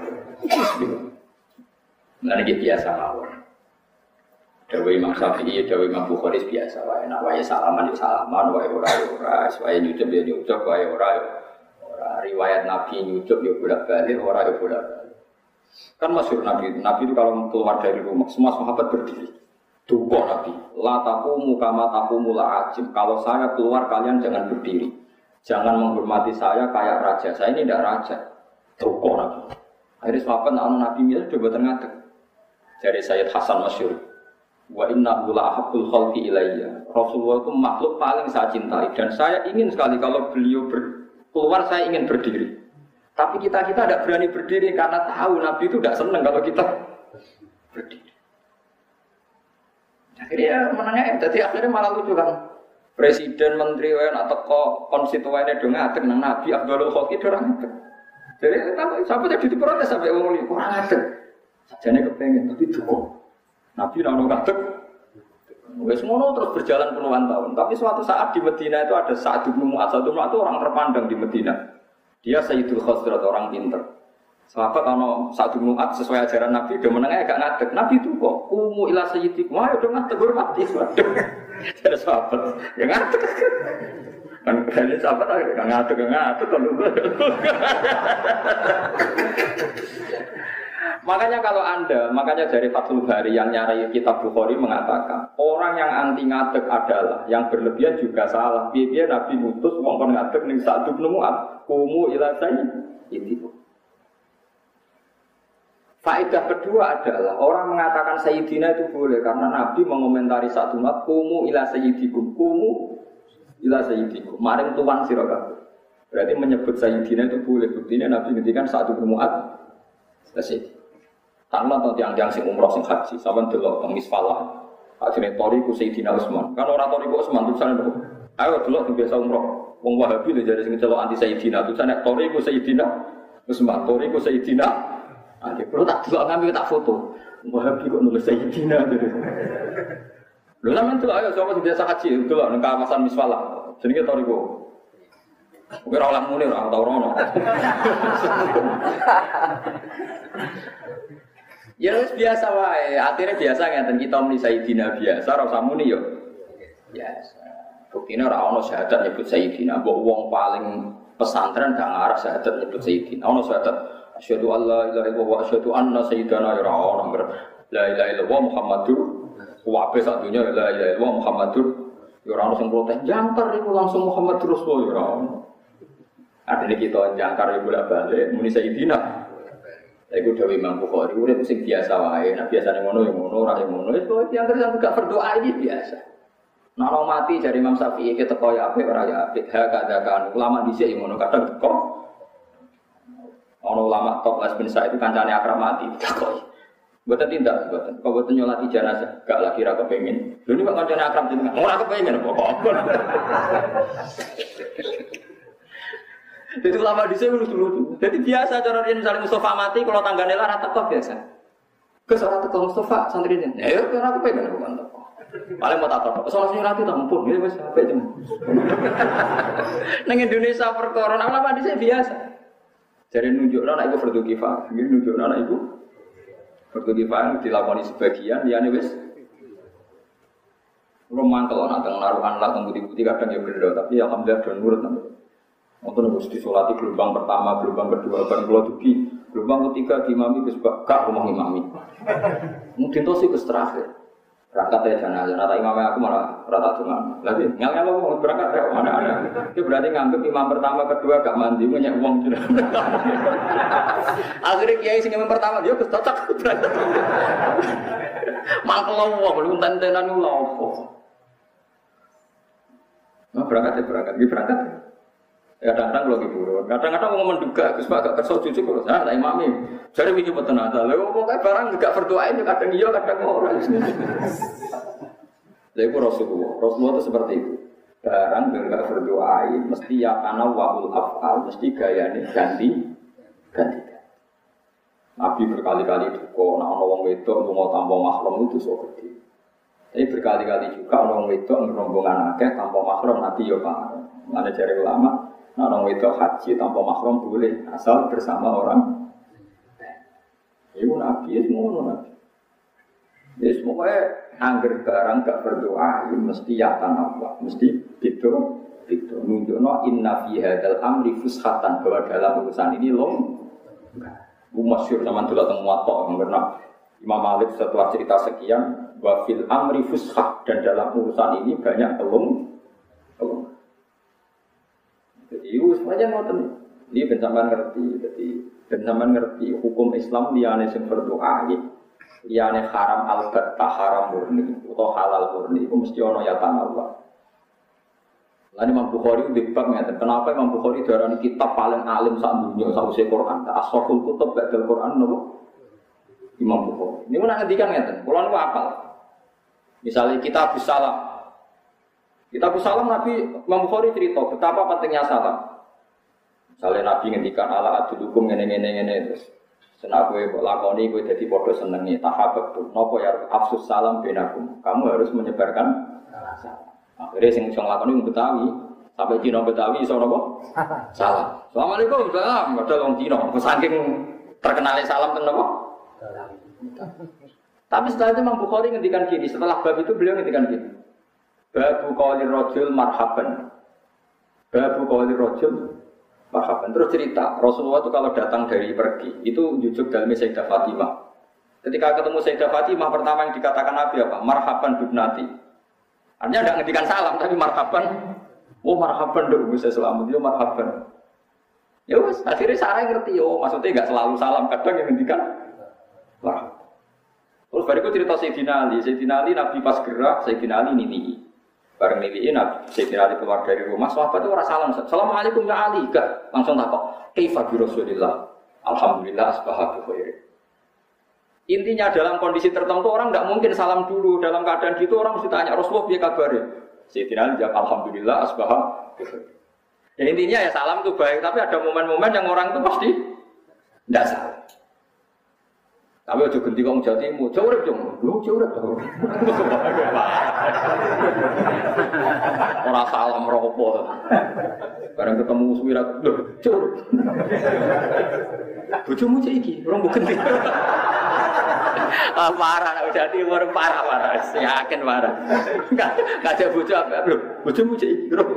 Nah ini biasa mawon. Dewi Imam Syafi'i, Dewi Imam Bukhari biasa. Wae nak wae salaman, wae ora, wae nyucup ya nyucup, wae ora. Riwayat Nabi nyucup ya bolak-balik, ora ya bolak-balik. Kan masyhur Nabi itu kalau keluar dari rumah, semua sahabat berdiri. Duko Nabi, la taqumu kama taqumul ajim. Kalau saya keluar kalian jangan berdiri. Jangan menghormati saya kayak raja. Saya ini tidak raja. Duko Nabi. Akhirnya sahabat Nabi Muhammad coba terngadeg. Dari Sayyid Hasan masyhur. Wa innahu la ahabbul khalqi ilayya. Rasulullah itu makhluk paling saya cintai dan saya ingin sekali kalau beliau keluar saya ingin berdiri. Tapi kita tidak berani berdiri karena tahu Nabi itu tidak senang kalau kita berdiri. Akhirnya menangnya, jadi akhirnya malah lucu kan. Presiden, menteri, atau konstituennya dong ngadeg nang Nabi Abdul Khalqi dorang ngadeg. Jadi sampai jadi diprotes sampai wong li kurang ngadeg. Sajane kepengen tapi duko. Nabi nang ngadeg. Wes ngono terus berjalan puluhan tahun. Tapi suatu saat di Medina itu ada Sa'd bin Mu'adz. Sa'd bin Mu'adz itu orang terpandang di Medina. Dia Sayyidul Khazraj, orang pinter. Sahabat ono Sa'd bin Mu'adz sesuai ajaran Nabi dia menengah agak ngadeg. Nabi itu kok umu ila sayyidikum. Wah, udah ngadeg hormati. Ada sahabat yang ngadeg. Kan kali sahabat agak ngadeg kalau Makanya dari Fathul Bari yang nyari kitab Bukhari mengatakan orang yang anti ngadeg adalah yang berlebihan juga salah. Biar Nabi mutus wong kon ngadeg ning Sa'd bin Mu'adz umu ila sayyidikum. Faedah kedua adalah orang mengatakan Sayyidina itu boleh karena Nabi mengomentari satu mat kumu ila sayyidikum maring tuan sira kabeh. Berarti menyebut Sayyidina itu boleh. Buktinya Nabi ngendikan Sa'd bin Mu'adz selesai. Tanpa atau tiang-tiang sing umroh sing haji sampean delok teng Misfalah. Ajine toriku Sayyidina Utsman. Kan ora toriku Utsman tulisane kok. Ayo delok sing biasa umroh. Wong Wahabi lho jare sing celok anti Sayyidina tulisane toriku Sayyidina Utsman, toriku Sayyidina. Nanti perlu tak delok ngambil tak foto. Wahabi kok nulis Sayyidina gitu. Lho sampean delok ayo sapa sing biasa haji delok nang kawasan Misfalah. Jenenge toriku. Ora oleh muni ora tau rono. Ya wis biasa wae, akhirnya biasa ngeten kita muni Sayyidina biasa ora usah muni yo. Biasa. Buktine ora ono syahadat nyebut Sayyidina, mbok wong paling pesantren gak ngarah syahadat nyebut Sayyidina. Ono syahadat asyhadu alla ilaha illallah wa asyhadu anna sayyidana ya ono la ilaha illallah Muhammadur wa ape satunya la ilaha illallah Muhammadur ya ono sing protes jangkar iku langsung Muhammadur Rasul ya ono. Artinya kita jangkar iku bolak-balik muni Sayyidina. Iku dawuh Imam Bukhari, urip sing biasa wae, nek biasane ngono ya ngono, ora ya ngono. Wis kok yang terus gak berdoa ini biasa. Nek ora mati jare Imam Syafi'i kita teko ya apik ora ya apik. Ha kadakan ulama dhisik ya ngono, kadang teko. Ono ulama top Les bin Sa'id itu kancane akrab mati, teko. Mboten tindak, mboten. Kok mboten nyolati jenazah, gak lagi ra kepengin. Lho ini kok kancane akrab jenengan. Ora kepengin apa-apa. Jadi ulama dhisik lucu-lucu. Jadi biasa cara riyen misalnya Mustafa mati kalau tanggane lara teko biasa. Gus ora teko Mustafa santrine. Ya ora kepengin apa mantep. Paling mau tak tok. Soal nyolati ta mumpun ya wis apik jem. Nang Indonesia perkara ulama dhisik biasa. Jadi nunjukno nek iku fardu kifayah, nunjukno nek iku fardu kifayah dilakoni sebagian, liyane wis romantel ana teng naruhan lah teng budi-budi kadang ya bener, tapi alhamdulillah do nurut nang. Wonten wis disolati gelombang pertama, gelombang kedua, ban kula dugi, gelombang ketiga diimami wis gak rumah imami. Mungkin to sih wis terakhir. Berangkat ya jenazah, rata imamnya aku malah rata dungan. Lagi ngel-ngel mau berangkat ya mana ada. Itu berarti nganggep imam pertama, kedua gak mandi, banyak uang sudah. Akhirnya kiai sing imam pertama dia cocok berangkat. Mangkel uang, belum tentenan ulang. Nah berangkat ya berangkat. Kadang-kadang lagi buruk, kadang-kadang mau menduga, Gus Pak gak kerso cucu kalau saya tak imami. Jadi mikir betul nada, lalu pokoknya barang gak berdoain, kadang iya, kadang orang. Jadi itu Rasulullah itu seperti itu. Barang gak berdoain, mesti ya karena wahul afal, mesti gayanya ganti. Nabi berkali-kali duka, nah orang wedok mau tanpa mahram itu so gede. Tapi berkali-kali juga orang wedok rombongan akeh tanpa mahram Nabi ya Pak. Mana cari ulama. Nah, orang itu haji tanpa mahram boleh asal bersama orang. Ibu Nabi semua Nabi. Jadi semuanya angger barang gak berdoa, mesti yakan Allah, mesti itu. Nunjukno inna fi hadzal amri fushatan, bahwa dalam urusan ini masyhur zaman dulu teng Muwatta karena Imam Malik setelah cerita sekian wa fil amri fushah, dan dalam urusan ini banyak kelung. Jadi semuanya ngoten. Ini bencaman ngerti. Jadi bencaman ngerti hukum Islam liyane sing berdoa, liyane haram albatta haram murni atau halal murni itu mesti ana yatan Allah. Lan Imam Bukhari dibab ngeten, kenapa Imam Bukhari darani kitab paling alim sak dunya sausé Quran, asraful kutub ba'dal Quran napa? Imam Bukhari. Niku nak ngendikan ngeten, kula niku apal. Misalnya kitab salam. Kitab salam Nabi Imam Bukhari cerita betapa pentingnya salam. Misalnya Nabi ngendikan ala adulukum ngene terus senak kowe mbok lakoni kowe dadi padha senenge tahabbatu. Napa ya afsus salam benakum. Kamu harus menyebarkan salam. Akhirnya sing iso nglakoni Betawi sampai Cina Betawi iso napa? Salam. Assalamualaikum salam padha wong Cina. Saking terkenalnya salam ten napa? Tapi setelah itu Imam Bukhari ngendikan gini, setelah bab itu beliau ngendikan gini. Babu qaulir rajul marhaban. Babu qaulir rajul marhaban. Terus cerita, Rasulullah itu kalau datang dari pergi, itu jujuk dalam Sayyidah Fatimah. Ketika ketemu Sayyidah Fatimah, pertama yang dikatakan Nabi apa? Marhaban bibnati. Artinya tidak ngendikan salam, tapi marhaban. Oh marhaban dong, bisa selamat. Yo marhaban. Ya wes, akhirnya saya ngerti. Oh maksudnya nggak selalu salam, kadang yang ngendikan marhaban. Terus bariku cerita Sayyidina Ali Nabi pas gerak, Sayyidina Ali nini. Bareng niliin, Sayyidina Ali keluar dari rumah, sahabat itu orang salam, Assalamualaikum ya Ali, gak langsung takut, kaifa bi Rasulillah, Alhamdulillah asbaha bi khair. Intinya dalam kondisi tertentu orang tidak mungkin salam dulu, dalam keadaan gitu orang mesti tanya Rasulullah biar kabarnya. Sayyidina Ali jawab Alhamdulillah asbaha bi khair. Ya intinya ya salam itu baik, tapi ada momen-momen yang orang itu pasti tidak salam. Tapi aja ganti kong jatimu, jauh urip jong, lu jauh urip jauh. Ora salam ropo. Bareng ketemu suwirat, lho, jauh. Bojomu cek iki, urung mbok ganti. Parah nek jati urip parah. Yakin parah. Enggak ada bojo apa, lho. Bojomu cek iki, urung.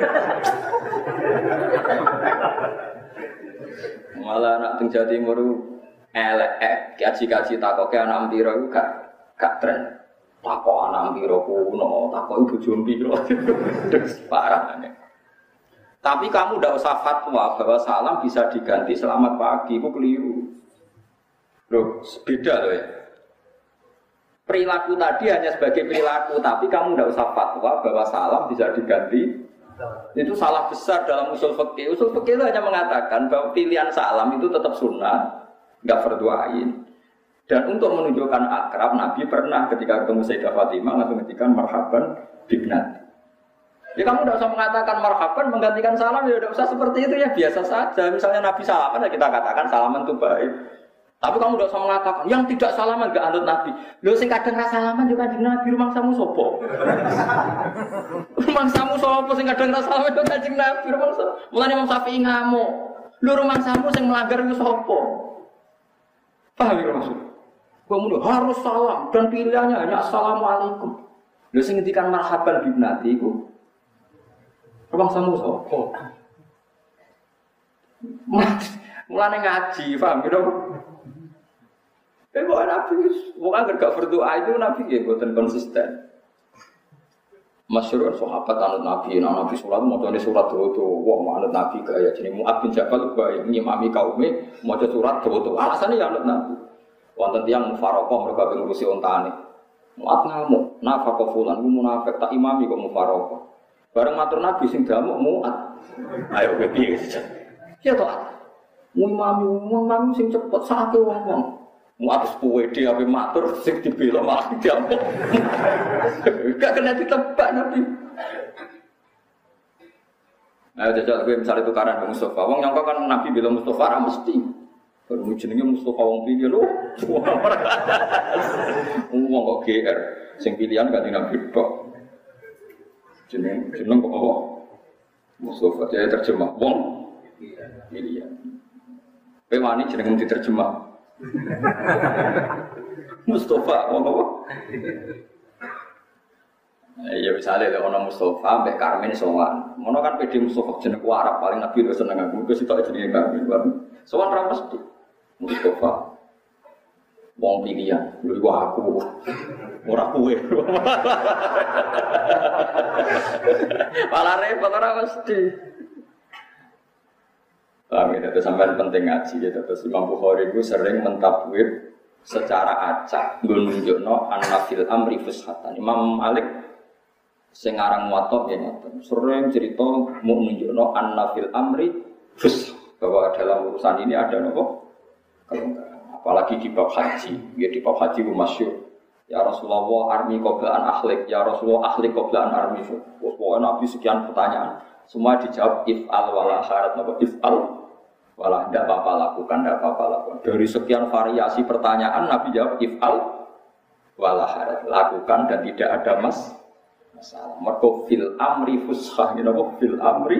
Malah anak teng Jatimur elek kaji-kaji takoke anak piro iku gak tren. Takok anak piro kuno, takok ibu jombi lho. Parah. Tapi kamu ndak usah fatwa bahwa salam bisa diganti selamat pagi, itu keliru. Loh, beda loh ya. Perilaku tadi hanya sebagai perilaku, tapi kamu ndak usah fatwa bahwa salam bisa diganti. Itu salah besar dalam usul fikih. Usul fikih itu hanya mengatakan bahwa pilihan salam itu tetap sunnah. Enggak fardu ain. Dan untuk menunjukkan akrab, Nabi pernah ketika ketemu Sayyidah Fatimah langsung ngendikan marhaban bibnati. Ya kamu tidak usah mengatakan marhaban menggantikan salam, ya tidak usah seperti itu ya, biasa saja. Misalnya Nabi salaman ya kita katakan salaman itu baik. Tapi kamu tidak usah mengatakan yang tidak salaman enggak anut Nabi. Lho sing kadang ra salaman juga Kanjeng Nabi rumangsamu sapa? Rumangsamu sapa sing kadang ra salaman juga Kanjeng Nabi rumangsa. Mulane Imam Syafi'i ngamuk. Lho rumangsamu sing melanggar iku sapa? Paham ya maksud? Kamu harus salam dan pilihannya hanya assalamualaikum. Lho sing ngendikan marhaban bibnati iku rumangsamu sapa? Mulane ngaji, paham ya? Kok Nabi, bukan gak berdoa itu Nabi ya, bukan konsisten. Masyhur sahabat anut Nabi, Nabi sholat mau tulis surat doa, wah anut Nabi gaya jadi Mu'ad bin Jabal gaya ngimami kaumnya mau surat doa, alasannya ya anut Nabi. Wonten tiyang mufarokoh mereka ngurusi ontane. Mu'ad ngamuk, nafaqah fulan, ku munafik tak imami kok mufarokoh. Bareng matur Nabi sing damuk Mu'ad. Ayo piye saja. Ya toh. Imami sing cepet sakake wong-wong. Mu'ad sepuluh dia ape matur sing dibela malah diamuk. Gak kena ditebak Nabi. Nah, jajal gue misalnya tukaran dengan Mustafa. Wong nyangka kan Nabi bilang Mustafa ra mesti. Baru jenenge Mustafa wong pilih lho. Wong kok GR sing pilihan gak Nabi tok. Jeneng kok apa? Mustafa dia terjemah wong pilihan. Kowe wani jeneng diterjemah. Mustafa wong apa? Ya misalnya lek ana Mustafa mbek Karmen sowan. Ngono kan PD Mustafa jeneng Arab paling Nabi wis seneng aku wis sitok jenenge Karmen. Sowan ra mesti. Mustafa wong pilihan. Lho iku aku. Ora kowe. Malah repot ora mesti. Amin. Itu sampai penting ngaji gitu. Terus Imam Bukhari itu sering mentabwid secara acak nunjukno anna fil amri fushatan. Imam Malik sing aran Muwatta ya ngoten. Sering cerita mau nunjukno anna fil amri fush bahwa dalam urusan ini ada nopo kelonggaran. Apalagi di bab haji. Ya di bab haji itu masyhur. Ya Rasulullah armi qabla an akhlik, ya Rasulullah akhlik qabla an armi. Pokoknya Nabi sekian pertanyaan, semua dijawab if'al wala harat napa if'al wala tidak apa-apa lakukan, tidak apa-apa lakukan. Dari sekian variasi pertanyaan Nabi jawab if'al wala harat, lakukan dan tidak ada masalah. Mergo fil amri fushah, gitu apa? Fil amri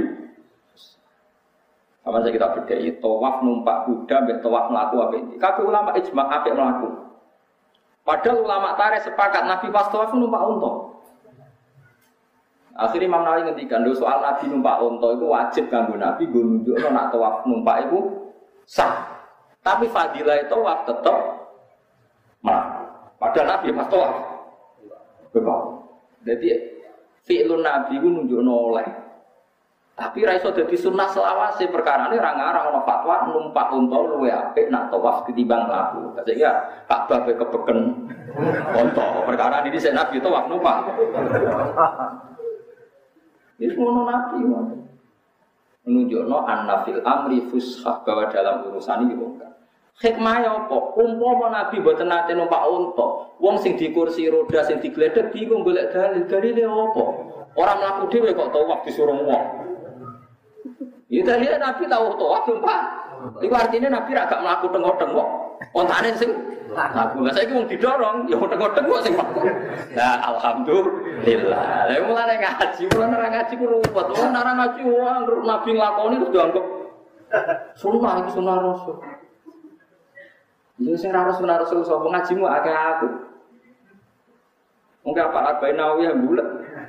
sama saja kita bedai tawaf numpak kuda, mbek tawaf melaku apa ini? Kabeh ulama ijma' apik melaku. Padahal ulama tarikh sepakat Nabi pas tawaf numpak unta. Akhirnya Imam Nawawi ngendikan lho soal Nabi numpak unta itu wajib kanggo Nabi nggo nunjukno nek tawaf numpak iku sah. Tapi fadilah tawaf tetep melaku. Padahal Nabi pas tawaf. Betul. Jadi fi'lun Nabi ku nunjukno oleh. Tapi ra iso dadi sunah selawase perkarane ra ngarang ana fatwa numpak unta luwih apik nak tawaf ketimbang mlaku. Sehingga Ka'bah kepeken unta. Perkara ini sik Nabi tawaf numpak. Ini semua Nabi menunjukno anna fil amri fushah bahwa dalam urusan ini bukan. Hikmahnya apa? Umpama Nabi mboten nate numpak unta, wong sing di kursi roda sing digledhek bingung golek dalile apa? Ora mlaku dhewe kok tawaf disuruh wong. Ya dalile Nabi tahu tawaf numpak. Iku artinya Nabi ra gak mlaku tengok-tengok. Ontane sing laku. Lah saiki wong didorong ya tengok-tengok sing mlaku. Nah, alhamdulillah. Lah mulane ngaji, mulane ora ngaji ku ruwet. Wong ora ngaji wong Nabi nglakoni terus dianggap sunah iki sunah Rasul. Yo sing ora sunah Rasul sapa ngajimu akeh aku. Mungkin apa Arba'in Nawawiyah bulet.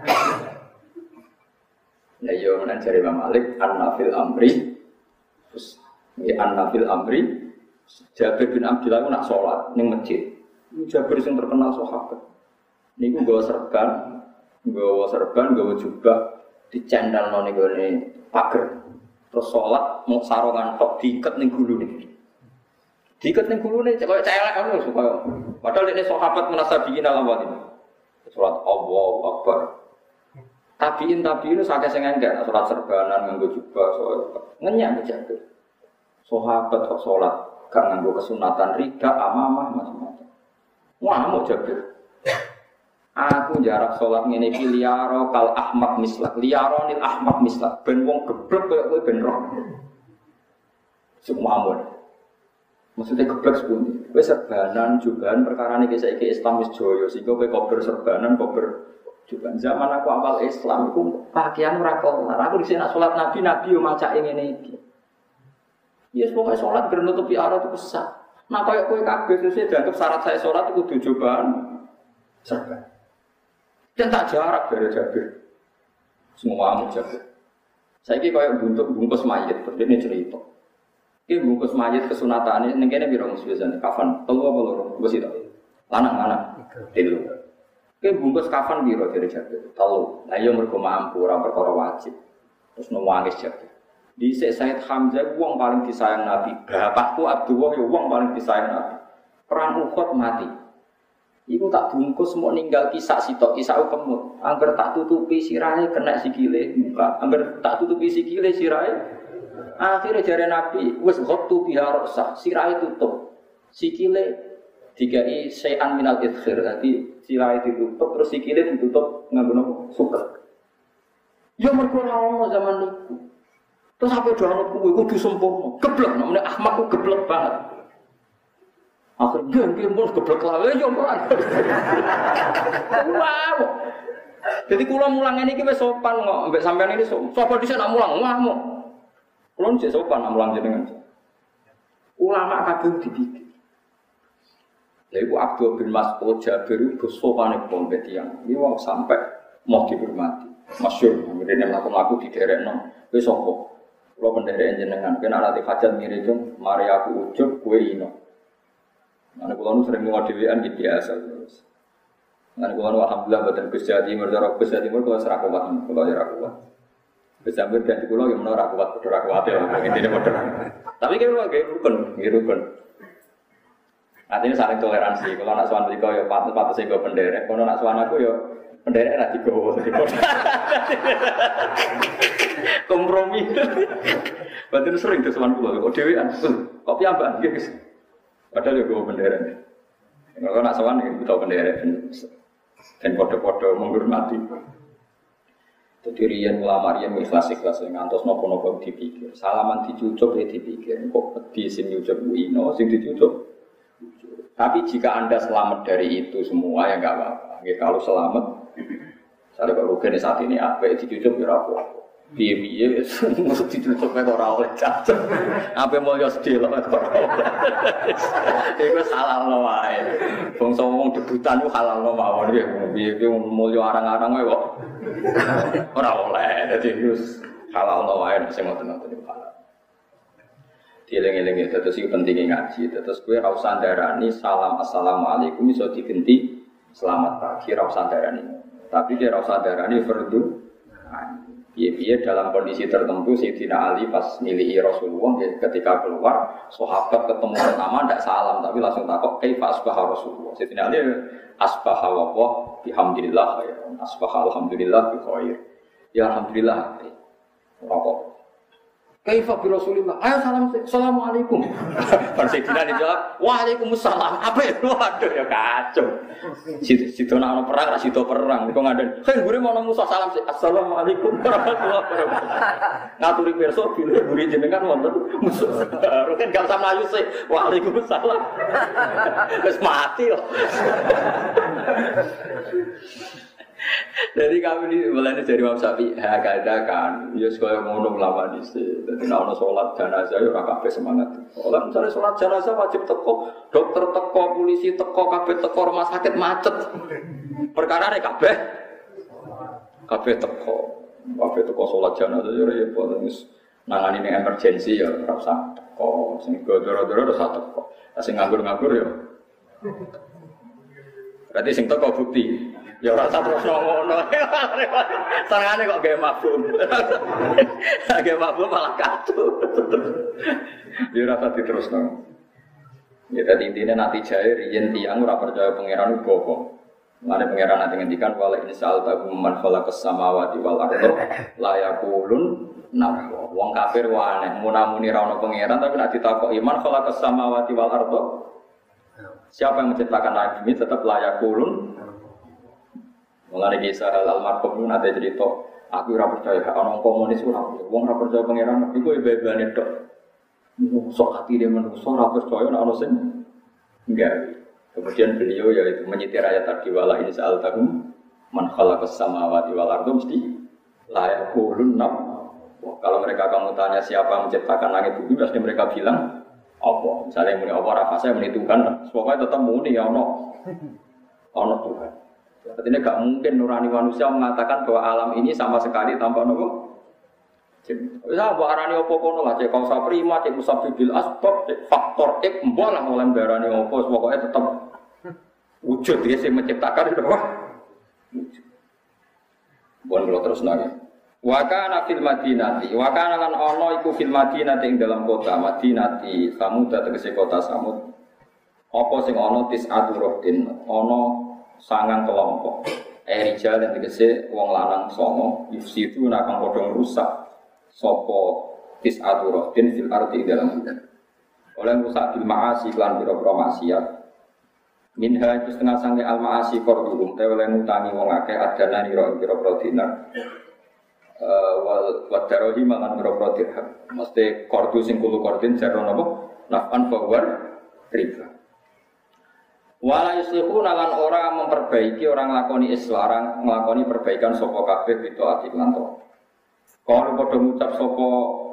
Ya yo menan jare Imam Malik an-nafil amri. Terus ya an-nafil amri. Jabir bin Abdullah nak sholat ning masjid. Jabir sing terkenal sahabat. Niku nggawa serban, nggawa jubah dicendalno ning gone pager. Terus sholat mau sarongan tok diiket ning gulune. Diiket ning gulune koyo celek ngono supaya padahal dene sahabat munasabiyin al-awwalin. Sholat Allahu Akbar. Tabiin itu sakit sing enggak sholat serbanan nganggo jubah ngenyak Jabir. Sahabat kok sholat gak nganggo kesunatan rida amamah macam-macam. Wah, mau Jabir. Aku jarak sholat ngene iki liyaro kal ahmad mislak, liyaronil ahmad mislak. Ben wong geblek koyo kowe ben roh. Semua amun. Maksudnya geblek sepundi. Kowe serbanan jubahan perkarane iki saiki Islam wis joyo sehingga kowe kober serbanan kober jubahan. Zaman aku awal Islam iku pakaian ora kelar. Aku dhisik nak sholat Nabi yo macake ngene iki. Yes pokoke sholat ben nutupi aurat itu sah. Nah koyo kowe kabeh sesuk dianggap syarat saya sholat itu kudu jubahan serban. Dan tak jarak dari Jabir. Semua amu Jabir. Saya ini kayak bungkus mayat, ini cerita. Ini bungkus mayat kesunatan ini kene biro biasanya kafan. Tahu apa lho? Bungkus itu. Lanang. Itu. Ini bungkus kafan biro dari Jabir. Tahu. Lah yo mergo mampu ora perkara wajib. Terus nangis Jabir. Di Sayyid Hamzah wong paling disayang Nabi. Bapakku Abdullah yo wong paling disayang Nabi. Perang Uhud mati. Iku tak bungkus mau ninggal kisah sitok kisah kemut. Angger tak tutupi sirahe kena sikile muka. Angger tak tutupi sikile sirahe. Akhirnya jare Nabi wis ghattu biha ra'sa. Sirahe tutup. Sikile dikai sayan minal idkhir. Dadi sirahe ditutup terus sikile ditutup nganggo nopo? Suket. Ya mergo ora ono zaman niku. Terus sampe do anut kuwi kudu sempurna. Geblek namanya Ahmad ku geblek banget. Akhirnya gembul geblek lawe yo ora. Wow. Jadi kula mulang ini wis sopan kok, mbek sampean ini sapa dhisik nak mulang ngamuk. Kula sik sopan nak mulang jenengan. Ulama kadung dipikir. Lha iku Abdul bin Mas'ud Jabir itu sopane pompe tiyang. Iki wong sampai mau dihormati. Masyhur ngene mlaku-mlaku diderekno. Wis sapa? Kula penderek jenengan, kena ati hajat mirip mari aku ujug kowe ino. Mana kalau sering ngomong dewan gitu biasa terus. Mana kalau alhamdulillah badan Gus Jawa Timur, Gus Jawa Timur kalau serak kuat, kalau serak kuat. Gus Jawa ganti pulau yang menolak kuat, betul kuat ya, intinya betul. Tapi kalau kayak rukun. Artinya saling toleransi. Kalau anak suan mereka ya patut saya penderek. Kalau anak suan aku ya penderek nanti go. Kompromi. Berarti sering tuh suan pulau. Kok dewan? Kopi apa? Gitu. Padahal juga bendera ni. Kalau nak sawan ni kita bendera dan kode-kode menghormati. Jadi rian ulama rian ikhlas ngantos nopo dipikir. Salaman dicucuk ya dipikir. Kok di sini dicucuk ino, sing dicucuk. Tapi jika anda selamat dari itu semua ya enggak apa-apa. Kalau selamat, saya kalau rugen saat ini apa dicucuk ya apa. Piye-piye mesti ditutup ora oleh cacat. Ape mulya sedih lho ora. Iku halal wae. Bangsa wong debutan ku halal mawon iki. Piye-piye mulya arang-arang wae kok. Ora oleh. Dadi wis halal wae sing ngoten-ngoten iki halal. Dieling-eling terus iki pentinge ngaji. Terus kowe ora usah ndarani salam assalamualaikum iso diganti selamat pagi ora usah ndarani. Tapi dia ora usah ndarani fardu. Iya dalam kondisi tertentu Sayyidina Ali pas nilihi Rasulullah ketika keluar sahabat ketemu pertama tidak salam tapi langsung takut kaifa asbaha Rasulullah. Sayyidina Ali asbaha wa bihamdillah ya asbaha alhamdulillah bi khair. Ya alhamdulillah. Rokok. Kaifa bi Rasulillah. Ayo salam assalamualaikum. Sayyidina Ali jawab waalaikumsalam. Apa itu? Waduh ya kacau. Situ ana perang ra situ perang. Kok ngaden. Sing gure mau Musa salam assalamualaikum warahmatullahi wabarakatuh. Ngaturi pirsa bilih gure jenengan wonten musuh. Kan gak usah mlayu sih. Waalaikumsalam. Wis mati kok. Jadi kami di mulai dari Imam Syafi'i kadakan, ya sekolah ngono lama di sini. Jadi nak sholat jenazah ya orang kafe semangat. Kalau misalnya sholat jenazah wajib teko, dokter teko, polisi teko, kafe teko, rumah sakit macet. Perkara ini kafe teko sholat jenazah ya repot. Nangani ini emergensi ya rasa teko, sing doro-doro rasa teko, sing nganggur-nganggur ya. Berarti sing teko bukti. Ya rasa terus ngono. Sarangane kok gawe mabuk. Gawe mabuk malah kacau. Ya rasa diterusno. Ya dadi intine nanti jae riyen tiyang ora percaya pangeran uga. Mane pangeran nanti ngendikan wala insal taqum man khalaqas samawati wal ardh la yaqulun nah. Wong kafir wae aneh, munamuni ra ono pangeran tapi nek ditakoki man khalaqas samawati wal ardh Siapa yang menciptakan langit bumi tetap layak kulun. Mulane kisah almarhum itu nanti cerita, aku ora percaya ana komunis ora. Wong ora percaya pangeran iku bebane tok. Sok hati dia manusia ora percaya ana sing enggak. Kemudian beliau yaitu menyitir ayat tadi wala in sa'altahum man khalaqas samawati wal arda mesti la yaqulun nam. Kalau mereka kamu tanya siapa yang menciptakan langit bumi pasti mereka bilang apa? Misalnya muni apa rafa saya muni Tuhan, pokoknya tetap muni ya ono Tuhan. Artinya gak mungkin nurani manusia mengatakan bahwa alam ini sama sekali tanpa nopo. Bisa buat arani opo kono lah, cek kausa prima, cek musabibil asbab, cek faktor X, mbak lah oleh berani opo, pokoknya tetap wujud dia yang menciptakan itu apa? Bukan kalau terus lagi. Wakana fil Madinati, wakana lan ono iku fil Madinati ing dalam kota Madinati, Samud tegese kota Samud. Apa sing ono tis'atu rohdin, ono sangang kelompok. Rijal yang tegese wong lanang songo, yufsidu nakang padha rusak. Sapa tis'atu rohdin fil ardi ing dalam bumi. Oleh rusak bil ma'asi lan pira-pira maksiat. Minha itu setengah sange al ma'asi korduhum, te oleh ngutangi wong akeh adana nira pira-pira dinar. Wal darohi malan pira-pira dirham. Mesti kordu sing kulo kordin jaro napa? Naf'an fawar riba. Wala yuslihu nalan ora memperbaiki orang nglakoni islah, nglakoni perbaikan sapa kabeh itu ati lan to. Kalau padha ngucap sapa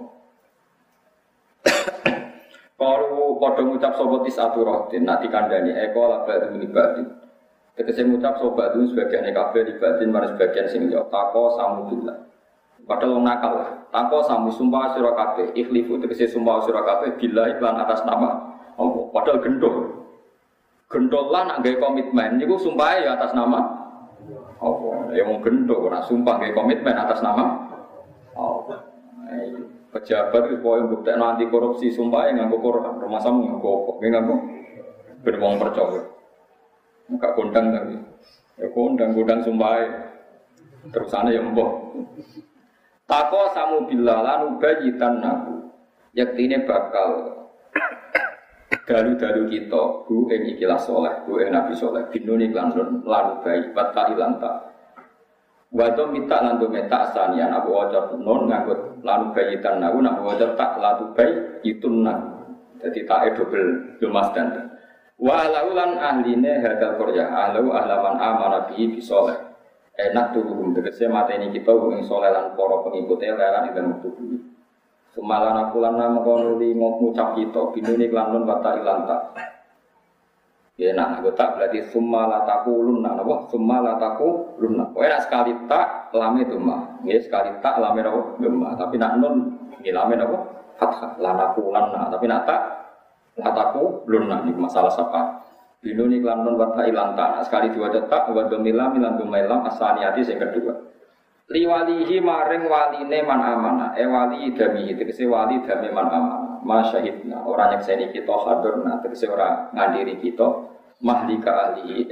Kalau padha ngucap sapa tisatu rohdin nak dikandani eko labadu libadin. Tegese ngucap sapa itu sebagian kabeh libadin marang sebagian sing yo tako samudullah. Padahal wong nakal. Tako samu sumpah sira kabeh ikhlifu tegese sumpah sira kabeh bila iklan atas nama Allah. Padahal gendol. Gendol lah nak gawe komitmen niku sumpahe ya atas nama Allah. Ya wong gendol ora sumpah gawe komitmen atas nama Allah. Pejabat itu poin bukti anti korupsi sumpah yang nganggo Quran, rumah samu nganggo apa? Nganggo ben wong percaya. Enggak kondang tapi. Ya kondang sumpah. Terusane ya mbok. Tako samu billalan ubayitan nahu. Yaktine bakal dalu-dalu kita bu ing ikilah saleh, bu ing nabi saleh binuni lan bayi batta ilanta. Wato minta lantu meta asanian aku wajar non ngangkut lalu bayitan aku nak wajar tak lalu bayi itu nak jadi tak double mas dan walaulan ahline hadal korya ahlau ahlaman amana bihi bisoleh enak turun tegese mateni kita ing soleh lan para pengikutnya lelan ing waktu dulu semalan aku lan mengkono li ngucap kita binuni lan non bata ilanta. Ya nak aku tak berarti summa la taqulunna napa summa la taqulunna. Kowe nak sekali tak lame itu mah. Nggih sekali tak lame napa gemah. Tapi nak nun nggih lame napa fathah la taqulanna. Tapi nak tak la taqulunna iki masalah sapa. Binuni lan nun wa ta ilanta. Sekali diwaca tak wa domila milan domailam asaniati sing kedua. Liwalihi maring waline man amana. Wali dami tegese wali dami man amana. Masyahidna orang nyekseni kita hadirna tegese ora ngandiri kita mahlika ahli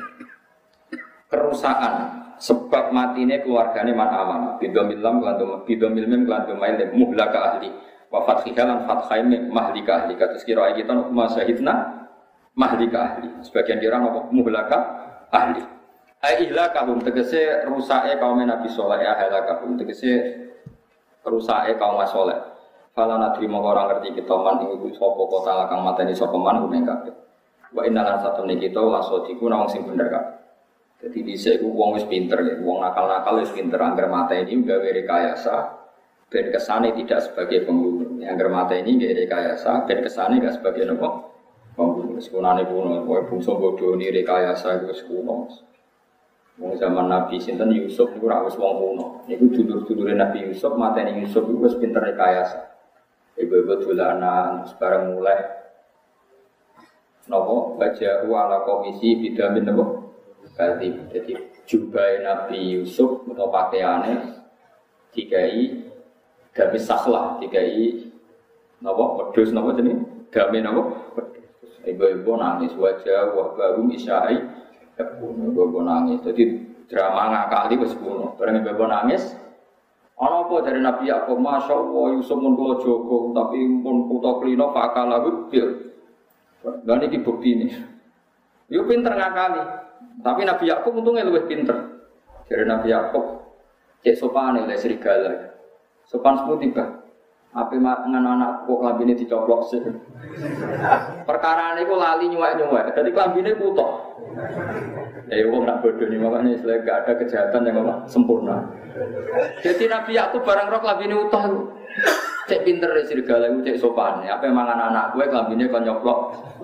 kerusakan sebab matine keluargane man amanah bidomil lam lan mail muhlaka ahli wa fathiha lan fathaim mahlika ahli kados kira kita masyahidna mahlika ahli sebagian kira apa muhlaka ahli ihlakahum tegese rusake kaum Nabi saleh ihlakahum tegese rusake kaum saleh. Fala nadri mongko ora ngerti kita man ing iku sapa kota lakang mateni sapa man kuwi kabeh. Wa innalan satune kita lasodiku nang sing bener kabeh. Dadi dhisik iku wong wis pinter ya, wong nakal-nakal wis pinter angger mateni gawe rekayasa ben kesane tidak sebagai pembunuh. Angger mateni gawe rekayasa ben kesane gak sebagai apa? Pembunuh. Sekunane kuno kowe bungsu bodho ni rekayasa iku wis kuno. Wong zaman Nabi sinten Yusuf niku ora wis wong kuno. Niku dulur-dulure Nabi Yusuf mateni Yusuf iku wis pinter rekayasa. Ibu-ibu dolanan sekarang mulai nopo baca ala komisi bidamin nopo jadi jubah Nabi Yusuf atau pakaiannya dikai gamis sakhlah dikai nopo pedus nopo jenis gamis nopo ibu-ibu nangis wajah baru isyai ibu-ibu nangis jadi drama ngakali wis kuno bareng ibu-ibu nangis. Ana apa dari Nabi Yakub masyaallah Yusuf mun kula jaga tapi pun putra klina fakalahu bil. Lah niki buktine. Yo pinter ngakali. Tapi Nabi Yakub untungnya lebih pinter. Dari Nabi Yakub, cek sopan oleh serigala. Sopan sepuluh tiba. Apa dengan anak kok lambine dicoplok sih. Perkara ini kok lali nyuwek-nyuwek. Jadi lambine kutok. Wong nak bodoh nih makanya istilah gak ada kejahatan yang sempurna. Jadi Nabi Yakub barang rok lambine utuh. Cek pinter dari serigala itu cek sopan. Apa mangan anak gue lambine kon nyoplok.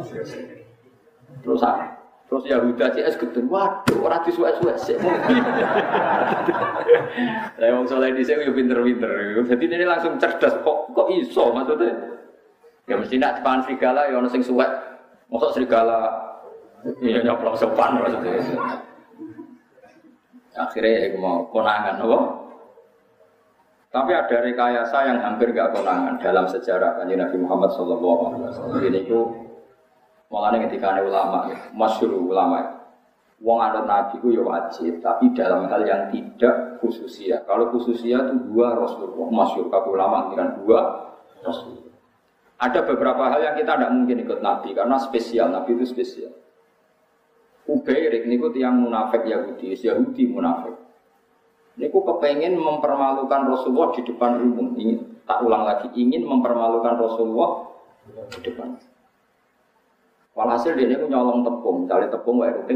Terus Yahuda CS gedhe, waduh ora disuwek-suwek sik. Lah wong saleh dhisik yo pinter-pinter. Dadi ini langsung cerdas kok iso maksudnya. Ya mesti nak depan serigala ya ono sing suwek. Mosok serigala ya nyoplok sopan maksudnya. Akhirnya aku mau konangan apa? Tapi ada rekayasa yang hampir enggak konangan dalam sejarah Kanjeng Nabi Muhammad sallallahu alaihi wasallam. Ini ku mulane ketika ulama, masyhur ulama, wong anut nabi ku ya wajib, tapi dalam hal yang tidak khususiyah. Kalau khususiyah itu dua Rasulullah, masyhur kabeh ulama kan dua Rasul. Ada beberapa hal yang kita tidak mungkin ikut nabi karena spesial, nabi itu spesial. Ubairik niku tiyang munafik Yahudi munafik. Niku kepengen mempermalukan Rasulullah di depan umum. Ingin tak ulang lagi, ingin mempermalukan Rasulullah di depan. Walhasil dia ini nyolong tepung, cari tepung wae rutin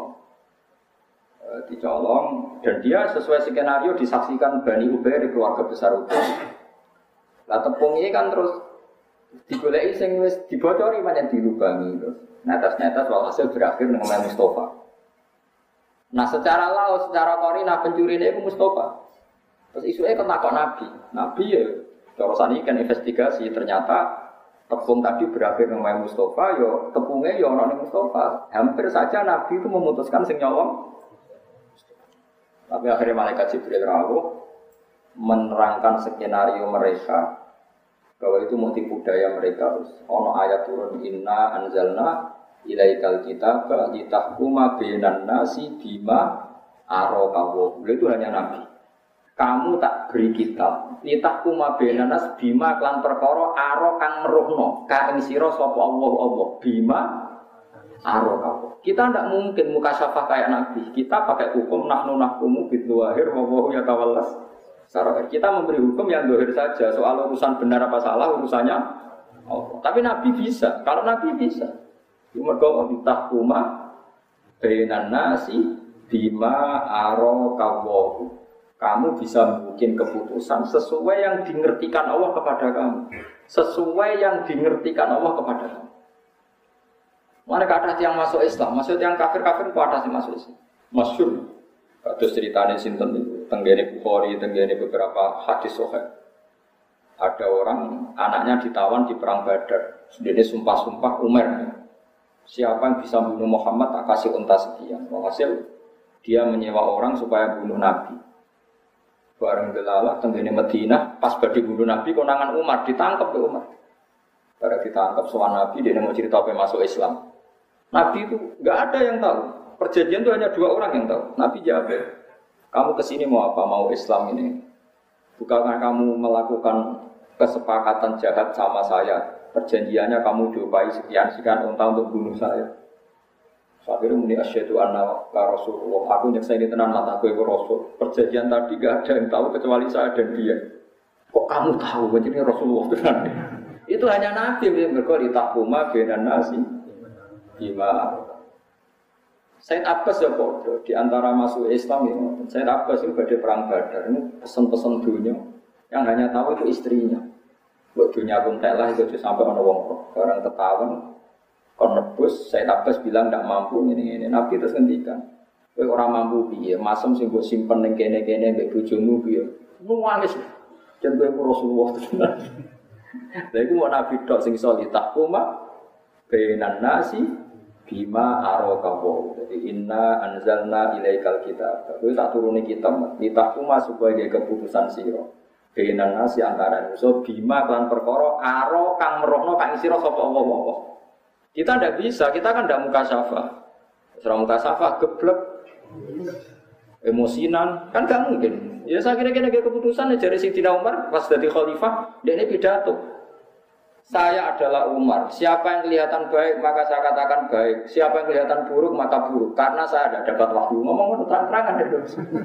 dicolong, dan dia sesuai skenario disaksikan Bani Ubair di keluarga besar Ubair. Lah tepung ini kan terus digoleki sing wis dibocori pancen dilubangi terus. Netes-netes walhasil berakhir dengan Mustafa. Nah secara laut, secara korina pencuri ini Mustafa. Terus isuke ketakok Nabi ya cara saniki kan investigasi ternyata tepung tadi berakhir dengan Mustafa, yo tepungnya yo orang Mustafa. Hampir saja Nabi itu memutuskan sing nyolong. Tapi akhirnya malaikat Jibril rawuh menerangkan skenario mereka bahwa itu motif budaya mereka. Ono ayat turun inna anzalna ilaikal kitaba litahkuma bainan nasi bima arakawa. Itu hanya Nabi. Kamu tak beri kitab litahkuma bainan nas bima klan perkara aro kang meruhno ka ing sira sapa Allah bima aro kamu. Kita tidak mungkin mukasyafah kayak Nabi. Kita pakai hukum nahnu nahkumu bidzuahir wa huwa yatawallas sarair. Kita memberi hukum yang zahir saja. Soal urusan benar apa salah urusannya Allah. Tapi Nabi bisa. Kalau Nabi bisa. Mergo litahkuma bainan nasi bima aro kamu. Kamu bisa bikin keputusan sesuai yang dimengertikan Allah kepada kamu. Sesuai yang dimengertikan Allah kepada kamu. Mana kata yang masuk Islam, maksud yang kafir-kafir ku ada sih masuk Islam. Masyhur. Kados ceritane sinten niku, tenggene Bukhari, tenggene beberapa hadis sahih. Ada orang anaknya ditawan di perang Badar. Dia sumpah-sumpah Umar. Siapa yang bisa bunuh Muhammad tak kasih unta sekian. Hasil dia menyewa orang supaya bunuh Nabi. Bareng delalah tenggene Madinah pas badhe bunuh Nabi konangan Umar ditangkap oleh Umar. Bareng ditangkap sowan Nabi dia mau cerita apa masuk Islam. Nabi itu enggak ada yang tahu. Perjanjian itu hanya 2 orang yang tahu. Nabi jawab, "Kamu kesini mau apa? Mau Islam ini? Bukankah kamu melakukan kesepakatan jahat sama saya? Perjanjiannya kamu diupahi sekian unta untuk bunuh saya." Akhirnya muni asyhadu anna Rasulullah. Aku nyekseni tenan mataku iku Rasul. Perjanjian tadi gak ada yang tahu kecuali saya dan dia. Kok kamu tahu jadi Rasulullah tenan? Itu hanya Nabi yang berkata ditahkuma bainan nasi bima. Said Abbas ya bodoh di antara masuk Islam ini. Said Abbas itu pada perang Badar ini pesen-pesen dunia yang hanya tahu itu istrinya. Buat dunia pun telah itu sampai ono wong barang ketahuan. Kon nebus, Said Abbas bilang tidak mampu ini. Nabi terus ngendikan, kowe ora mampu piye? Masem sing mbok simpen ning kene-kene mbek bojomu piye? Nuwangis. Jan kowe Rasulullah tenan. Lha iku mau Nabi tok sing iso ditahkuma bainan nasi bima arakawa. Jadi inna anzalna ilaikal kitab. Kowe tak turune kitab, ditahkuma supaya keputusan sira. Bainan nasi antara manusa bima lan perkara aro kang merohno kang sira sapa Allah. Kita tidak bisa, kita kan tidak mukasyafah. Setelah mukasyafah, geblek, emosinan, kan tidak mungkin. Ya saya kira-kira keputusan dari Sayyidina Umar pas jadi khalifah, dia ini pidato. Saya adalah Umar. Siapa yang kelihatan baik maka saya katakan baik. Siapa yang kelihatan buruk maka buruk. Karena saya tidak dapat wahyu. Ngomong terang-terangan itu.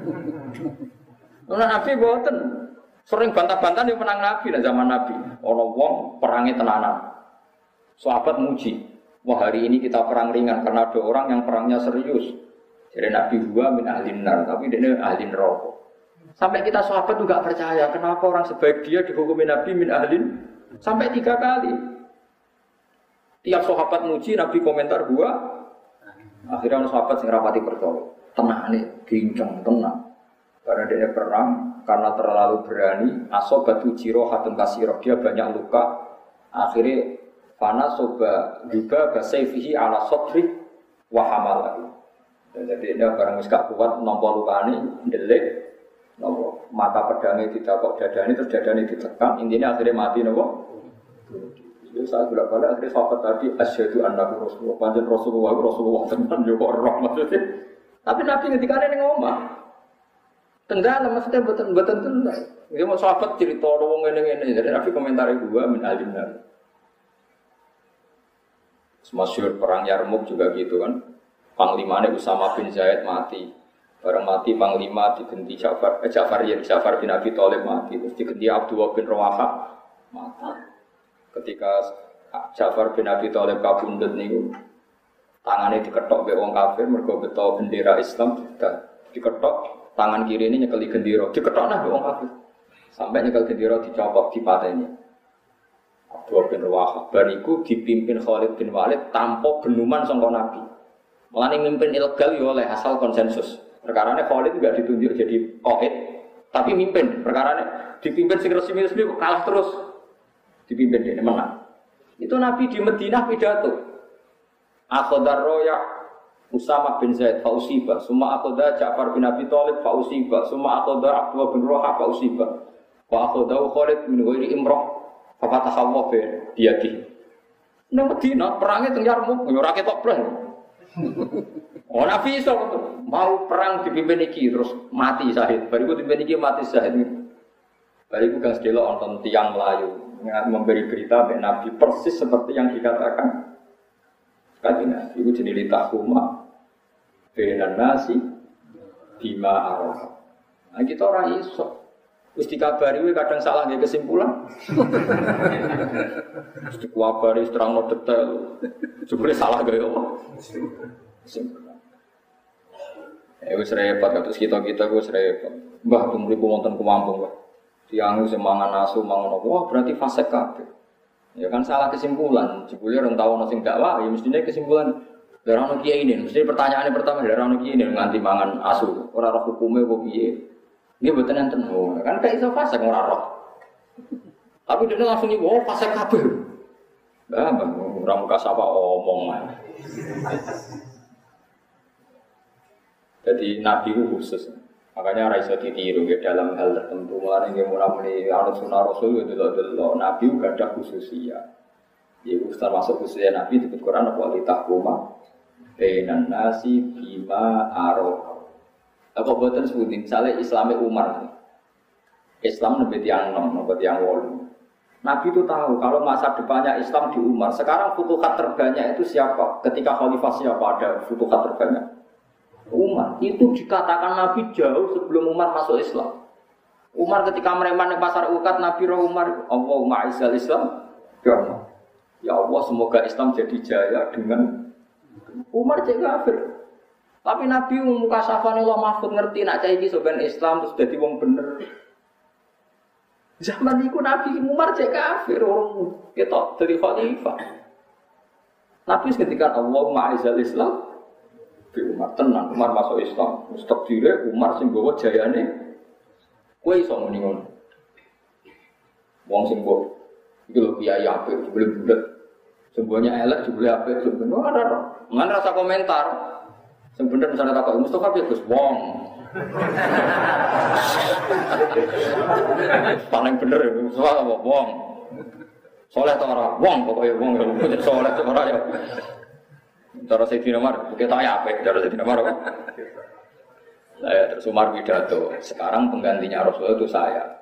Nabi boten sering bantah-bantah di menang Nabi dan zaman Nabi. Orang wong perangi tenanan. Sahabat muji. Wah hari ini kita perang ringan karena ada orang yang perangnya serius. Jadi Nabi gua min ahlin nar, tapi dia ahlin neraka. Sampai kita sahabat juga percaya. Kenapa orang sebaik dia dihukumi Nabi min ahlin? Sampai 3 kali. Tiap sahabat muji, Nabi komentar gua. Akhirnya orang sahabat sing rapati percaya. Tenang nih, gincang, tenang. Karena dia perang, karena terlalu berani. Asobatu jirohatun kasiroh, dia banyak luka. Akhirnya fana soba juga basayfihi ala sodri wahamal lagi. Jadi dia barang gak kuat nampak luka ini, delik. Nopo mata pedangnya ditakok dadani terus dadani ditekan intinya akhirnya mati nopo. Jadi saya bolak-balik akhirnya sahabat tadi asyhadu anna rasulullah panjen Rasulullah tenan yo kok roh maksudnya. Tapi Nabi ngendikane ning omah. Tenggal maksudnya mboten tenan. Dia mau sahabat cerita wong ngene-ngene jadi Nabi komentari gua min alimna. Masyhur perang Yarmuk juga gitu kan. Panglimane Usama bin Zaid mati. Barang mati panglima diganti Ja'far bin Abi Thalib mati, terus diganti Abdullah bin Rawaha mati. Ketika Ja'far bin Abi Thalib kabundut niku tangannya diketok mbek wong kafir mergo beto bendera Islam diketok tangan kiri ini nyekeli gendera diketok nah mbek wong kafir sampai nyekel gendera dicopot dipateni. Abdullah bin Rawaha bariku dipimpin Khalid bin Walid tanpa benuman sangka Nabi. Mulane mimpin ilegal yo oleh asal konsensus. Perkaranya Khalid juga ditunjuk jadi qaid, tapi mimpin. Perkaranya dipimpin sing resmi-resmi kok kalah terus. Dipimpin dia menang. Itu Nabi di Madinah pidato. Akhadar roya Usama bin Zaid fausiba, summa akhadha Ja'far bin Abi Thalib fausiba, summa akhadha Abdullah bin Rawaha fausiba. Wa akhadha Khalid bin ghairi imrah fa fataha Allah bi yadihi. Nang Madinah perangnya teng Yarmuk, ora ketok blas. Oh Nabi iso mau perang dipimpin iki terus mati syahid. Bariku dipimpin iki mati syahid. Bariku gang sedelo wonten tiyang Melayu memberi berita mek Nabi persis seperti yang dikatakan. Katanya iku jenenge tahuma benan nasi bima arah. Nah kita ora iso. Wis dikabari kowe kadang salah nggih kesimpulan. Wis dikabari terangno detail. Jebule salah gawe apa? Kesimpulan. Wis repot kados kita wis repot. Mbah tumriku wonten kemampung, Mbah. Tiyang sing mangan asu mangan apa? Wah, berarti fasik kabeh. Ya kan salah kesimpulan. Jebule orang tahu ana sing dakwah, ya mestine kesimpulan darah ono kiai ini. Mesti pertanyaane pertama darah ono kiai ini nganti mangan asu. Ora roh hukume kok piye? Nggih mboten enten. Kan gak iso fasik ora roh. Tapi dia langsung iki, "Oh, fasik kabeh." Mbah, ora muka sapa omong ae. Jadi Nabi itu khusus, makanya raiso ditiru ya, dalam hal tertentu. Mulai yang mulai anut sunnah Rasul itu loh. Nabi juga ada khususnya. Jadi termasuk khususnya Nabi di Quran apa litahkuma bainan nasi bima aroh. Apa buatan sebutin? Misalnya Islamnya Umar, Islam lebih tiang 6, lebih tiang 8. Nabi itu tahu kalau masa depannya Islam di Umar. Sekarang futuhat terbanyak itu siapa? Ketika khalifah siapa ada futuhat terbanyak? Umar. Itu dikatakan Nabi jauh sebelum Umar masuk Islam. Umar ketika mereman di pasar Uqad, Nabi roh Umar, Allahumma izzal Islam. Ya Allah, semoga Islam jadi jaya dengan Umar jadi kafir. Tapi Nabi muka safane Allah Mahfud ngerti nak cah iki soben Islam terus dadi wong bener. Zaman iku Nabi Umar jadi kafir orang ketok dari khalifah. Nabi ketika Allahumma izzal Islam Umar tenang, Umar masuk Islam. Stok dire Umar sing gawa jayane. Kowe iso muni ngono. Wong sing mbok iki lho kiai apik jebule bulet. Semuanya elek jebule apik sebenarnya ora ora. Ngan rasa komentar. Sing bener misalnya takok Mustofa piye Gus wong. Paling bener Mustofa apa wong. Soleh ta ora? Wong pokoke wong ya soleh ta ora ya. Cara Sayyidina Umar, kita apik cara Sayyidina Umar apa? Saya terus Umar pidato. Sekarang penggantinya Rasulullah itu saya.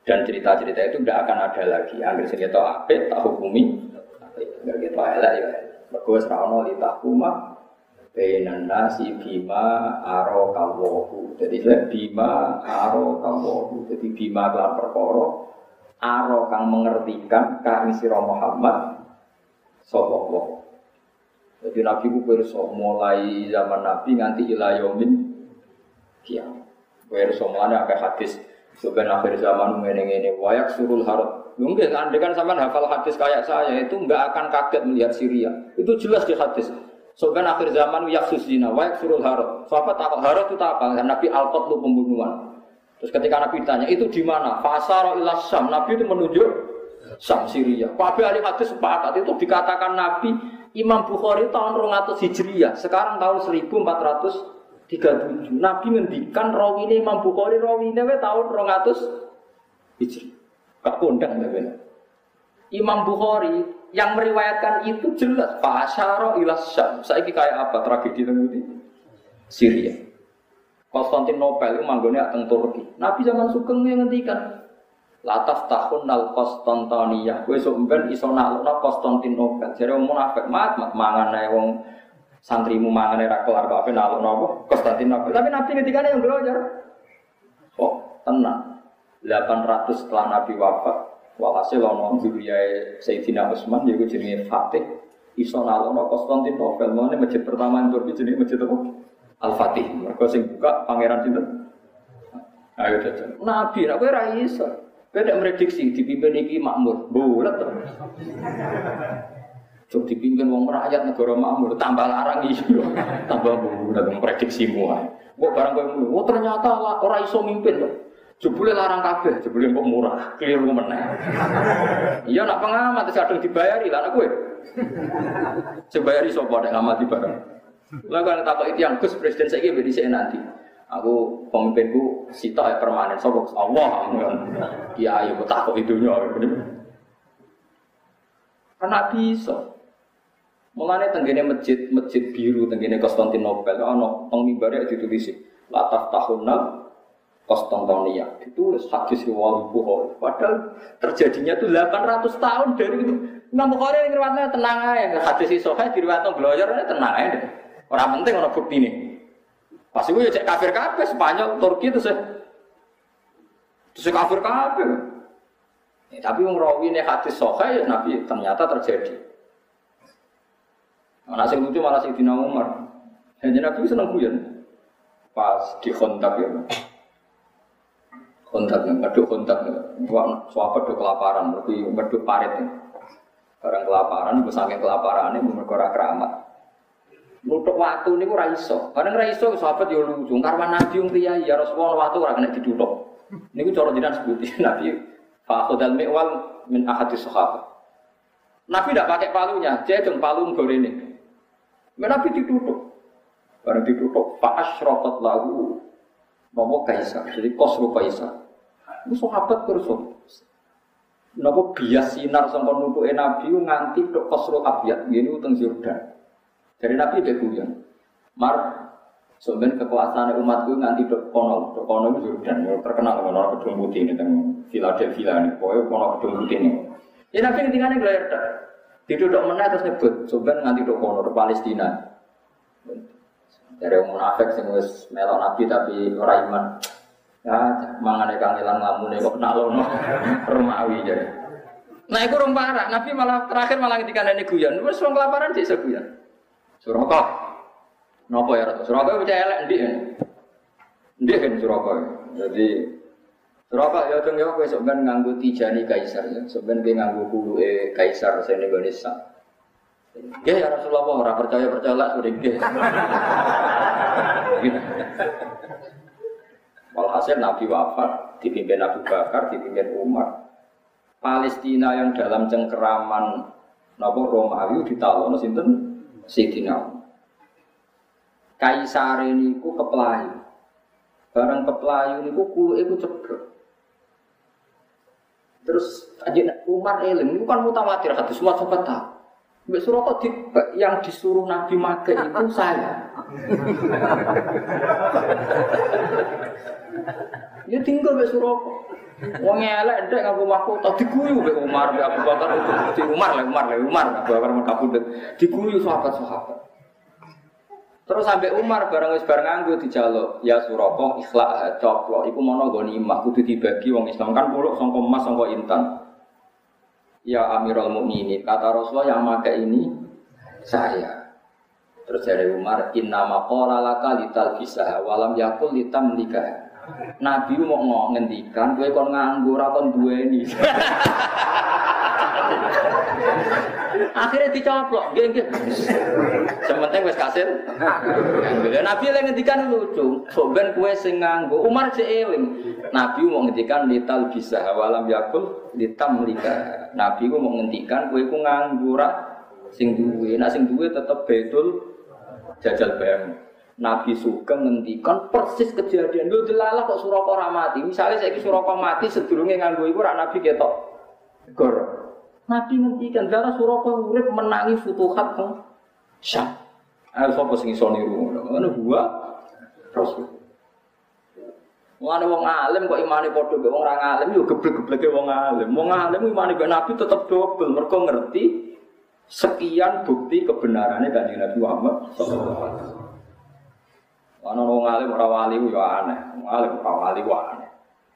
Dan cerita-cerita itu tidak akan ada lagi. Angger sing ketok apik tak hukumi. Angger ketok elek ya. Mergo wis ra ono litahuma bainan nasi bima arokawohu. Jadi bima arokawohu. Jadi bima kelan perkara aro kang mengertikan ka ing sira Muhammad sallallahu. Jadi Nabi ku pirsa mulai zaman Nabi nganti ila yaumin kiamat. Pirsa mulane akeh hadis sebenarnya akhir zaman ngene-ngene wayak surul harut. Mungkin kan sampean hafal hadis kayak saya itu enggak akan kaget melihat Syria. Itu jelas di hadis. Sebenarnya akhir zaman yaksus zina wayak surul harut. Sahabat takut harut itu apa? Nabi al-qatlu pembunuhan. Terus ketika Nabi ditanya, itu di mana? Fasara ila Syam. Nabi itu menunjuk Syam, Syria. Kabeh ahli hadis sepakat itu dikatakan Nabi Imam Bukhari tahun 200 Hijriah. Sekarang tahun 1437. Nabi ngendikan rawine Imam Bukhari rawine tahun 200 Hijriah. Gak kondang ya benar. Imam Bukhari yang meriwayatkan itu jelas fasara ila Syam. Saiki kayak apa tragedi itu? Syria. Konstantinopel itu manggone teng Turki. Nabi zaman Sugeng yang ngendikan lataf tahun nal Konstantinia. Kowe sok ben iso nalokno Konstantinopel. Jare wong munafik mat mangan ae wong santrimu mangan ora kelar kok ape nalokno apa Konstantinopel. Tapi Nabi ngendikane yang belajar. Oh, tenang. 800 setelah Nabi wafat. Walhasil ana zuriyae Sayyidina Utsman yaiku jenenge Fatih iso nalokno Konstantinopel. Mane masjid pertama ing Turki jenenge masjid apa? Al-Fatih, mereka sing buka pangeran sinten? Ayo jajan. Nabi, nek kowe ra iso. Kowe nek prediksi dipimpin iki makmur, bulet to. Cuk dipimpin wong rakyat negara makmur, tambah larang iso. Tambah bulet prediksimu ae. Kok barang kowe mulu, ternyata ora iso mimpin to. Jebule larang kabeh, jebule kok murah, keliru meneh. Iya nak pengamat wis kadung dibayari lah kowe. Sebayari sapa nek ngamati barang. Lah kan takok itu yang Gus presiden saiki ben dhisik nanti. Aku pemimpinku sitok permanen sapa Allah. Ya ayo takok idunya. Karena bisa. Mulane tenggene masjid biru tenggene Konstantinopel ana teng mimbare ditulis lataf tahunna Konstantinia. Ditulis hadis riwayat Bukhari. Padahal terjadinya itu 800 tahun dari itu. Imam Bukhari ngriwayatne tenang ae. Hadis iso kae diriwayatno bloyor tenang ae. Ora penting ana buktine. Pas iku ya cek kafir kabeh Spanyol, Turki terus kafir kabeh. Tapi wong rawine hadis sahih ya Nabi ternyata terjadi. Ana sing lucu malah Sayyidina Umar. Jadi Nabi seneng guyon. Pas di kontak ya. Kontaknya, meduk. Sahabat do kelaparan, lebih meduk parit. Barang kelaparan, saking kelaparannya mergo ora keramat. Nutuk waktu niku ora iso. Kadang ora iso sahabat yo lucu. Karwan Nabi wong priyayi ya Rasulullah waktu ora kena ditutuk. Niku cara jenengan sebuti Nabi fa khudal mi'wal min ahadis sahabat. Nabi tidak pakai palunya, dia cung palu gorene. Nabi ditutuk. Barang ditutuk fa asyraqat lahu Nomo Kaisar, jadi Khosrow Kaisar. Itu sahabat terus. Nopo bias sinar sampai nutuke Nabi nganti tok Khosrow Abyad, ngene uteng Yordan. Dari Nabi dia guyon. Sebenarnya kekuasaan umatku nganti tok kono itu Yordan, terkenal kono gedung putih ini teng Philadelphia ini, pokoknya kono gedung putih ini. Ya Nabi ketinggalan gelar tok. Diduduk meneh terus nyebut, sebenarnya nganti tok kono tok Palestina. Dari orang munafik sing wis melok Nabi tapi ora iman. Ya, mangane kangelan ngamune kok nalono Romawi jadi. Nah, iku rong parah. Nabi malah terakhir malah ketika nene guyon. Wis wong kelaparan dik guyon. Suraka. Napa ya Rasul? Suraka wis elek ndik. Ndik kan Suraka. Jadi Suraka ya cung yo kowe sok ben nganggo tijani kaisar ya. Sok ben kowe nganggo kuluke kaisar sing Indonesia. Ya Rasulullah ora percaya lah sudah nggih. Walhasil Nabi wafat, dipimpin Abu Bakar, dipimpin Umar. Palestina yang dalam cengkeraman napa Romawi ditalono sinten? Sayyidina. Kaisar niku keplayu. Barang keplayu niku kuluke ku ceblok. Terus Umar eling niku kan mutawatir hadis semua sahabat tahu. Mbak Suraka yang disuruh Nabi make itu saya. Ya tinggal Mbak Suraka. Wong elek ndek nganggo omahku tak diguyu mbek Umar mbek Abu Bakar di Umar Abu Bakar kabudut diguyu sahabat-sahabat. Terus sampai Umar bareng nganggo dijaluk, ya Suraqah ikhlaq coplok iku mono ghanimah kudu dibagi wong Islam kan puluk sangka emas sangka intan. Ya Amirul Mukminin, kata Rasulullah yang pakai ini saya. Terus dari Umar, inna maqala laka lital bisah walam yakul litam nikah. Nabi mau ngendikan kowe kon nganggo ora kon duweni. Akhirnya dicoplok, nggih. Sementing wis kasil. Nabi lek ngendikan lucu, sok ben kowe sing nganggo. Umar sik eling. Nabi mau ngendikan lital bisa walam yakul litam lika. Nabi mau ngendikan kowe ku nganggo ora sing duwe. Nek sing duwe tetep betul jajal bayang. Nabi Sugeng ngendikan persis kejadian. Lho delalah kok Suraqah ora mati. Misale saiki Suraqah mati sedurunge nganggo iku ora Nabi ketok. Gor. Nabi ngendikan delalah Suraqah urip menangi futuhat teng Syam. Ayo sapa sing iso niru ngono gua Rasul. Wong wong alim kok imane padha mbek wong ora alim yo geblek-gebleke wong alim. Wong alim imane mbek Nabi tetep dobel mergo ngerti sekian bukti kebenarannya Kanjeng Nabi Muhammad sallallahu alaihi wasallam. Ana wong alim ora wali yo aneh, wong alim ora wali yo aneh.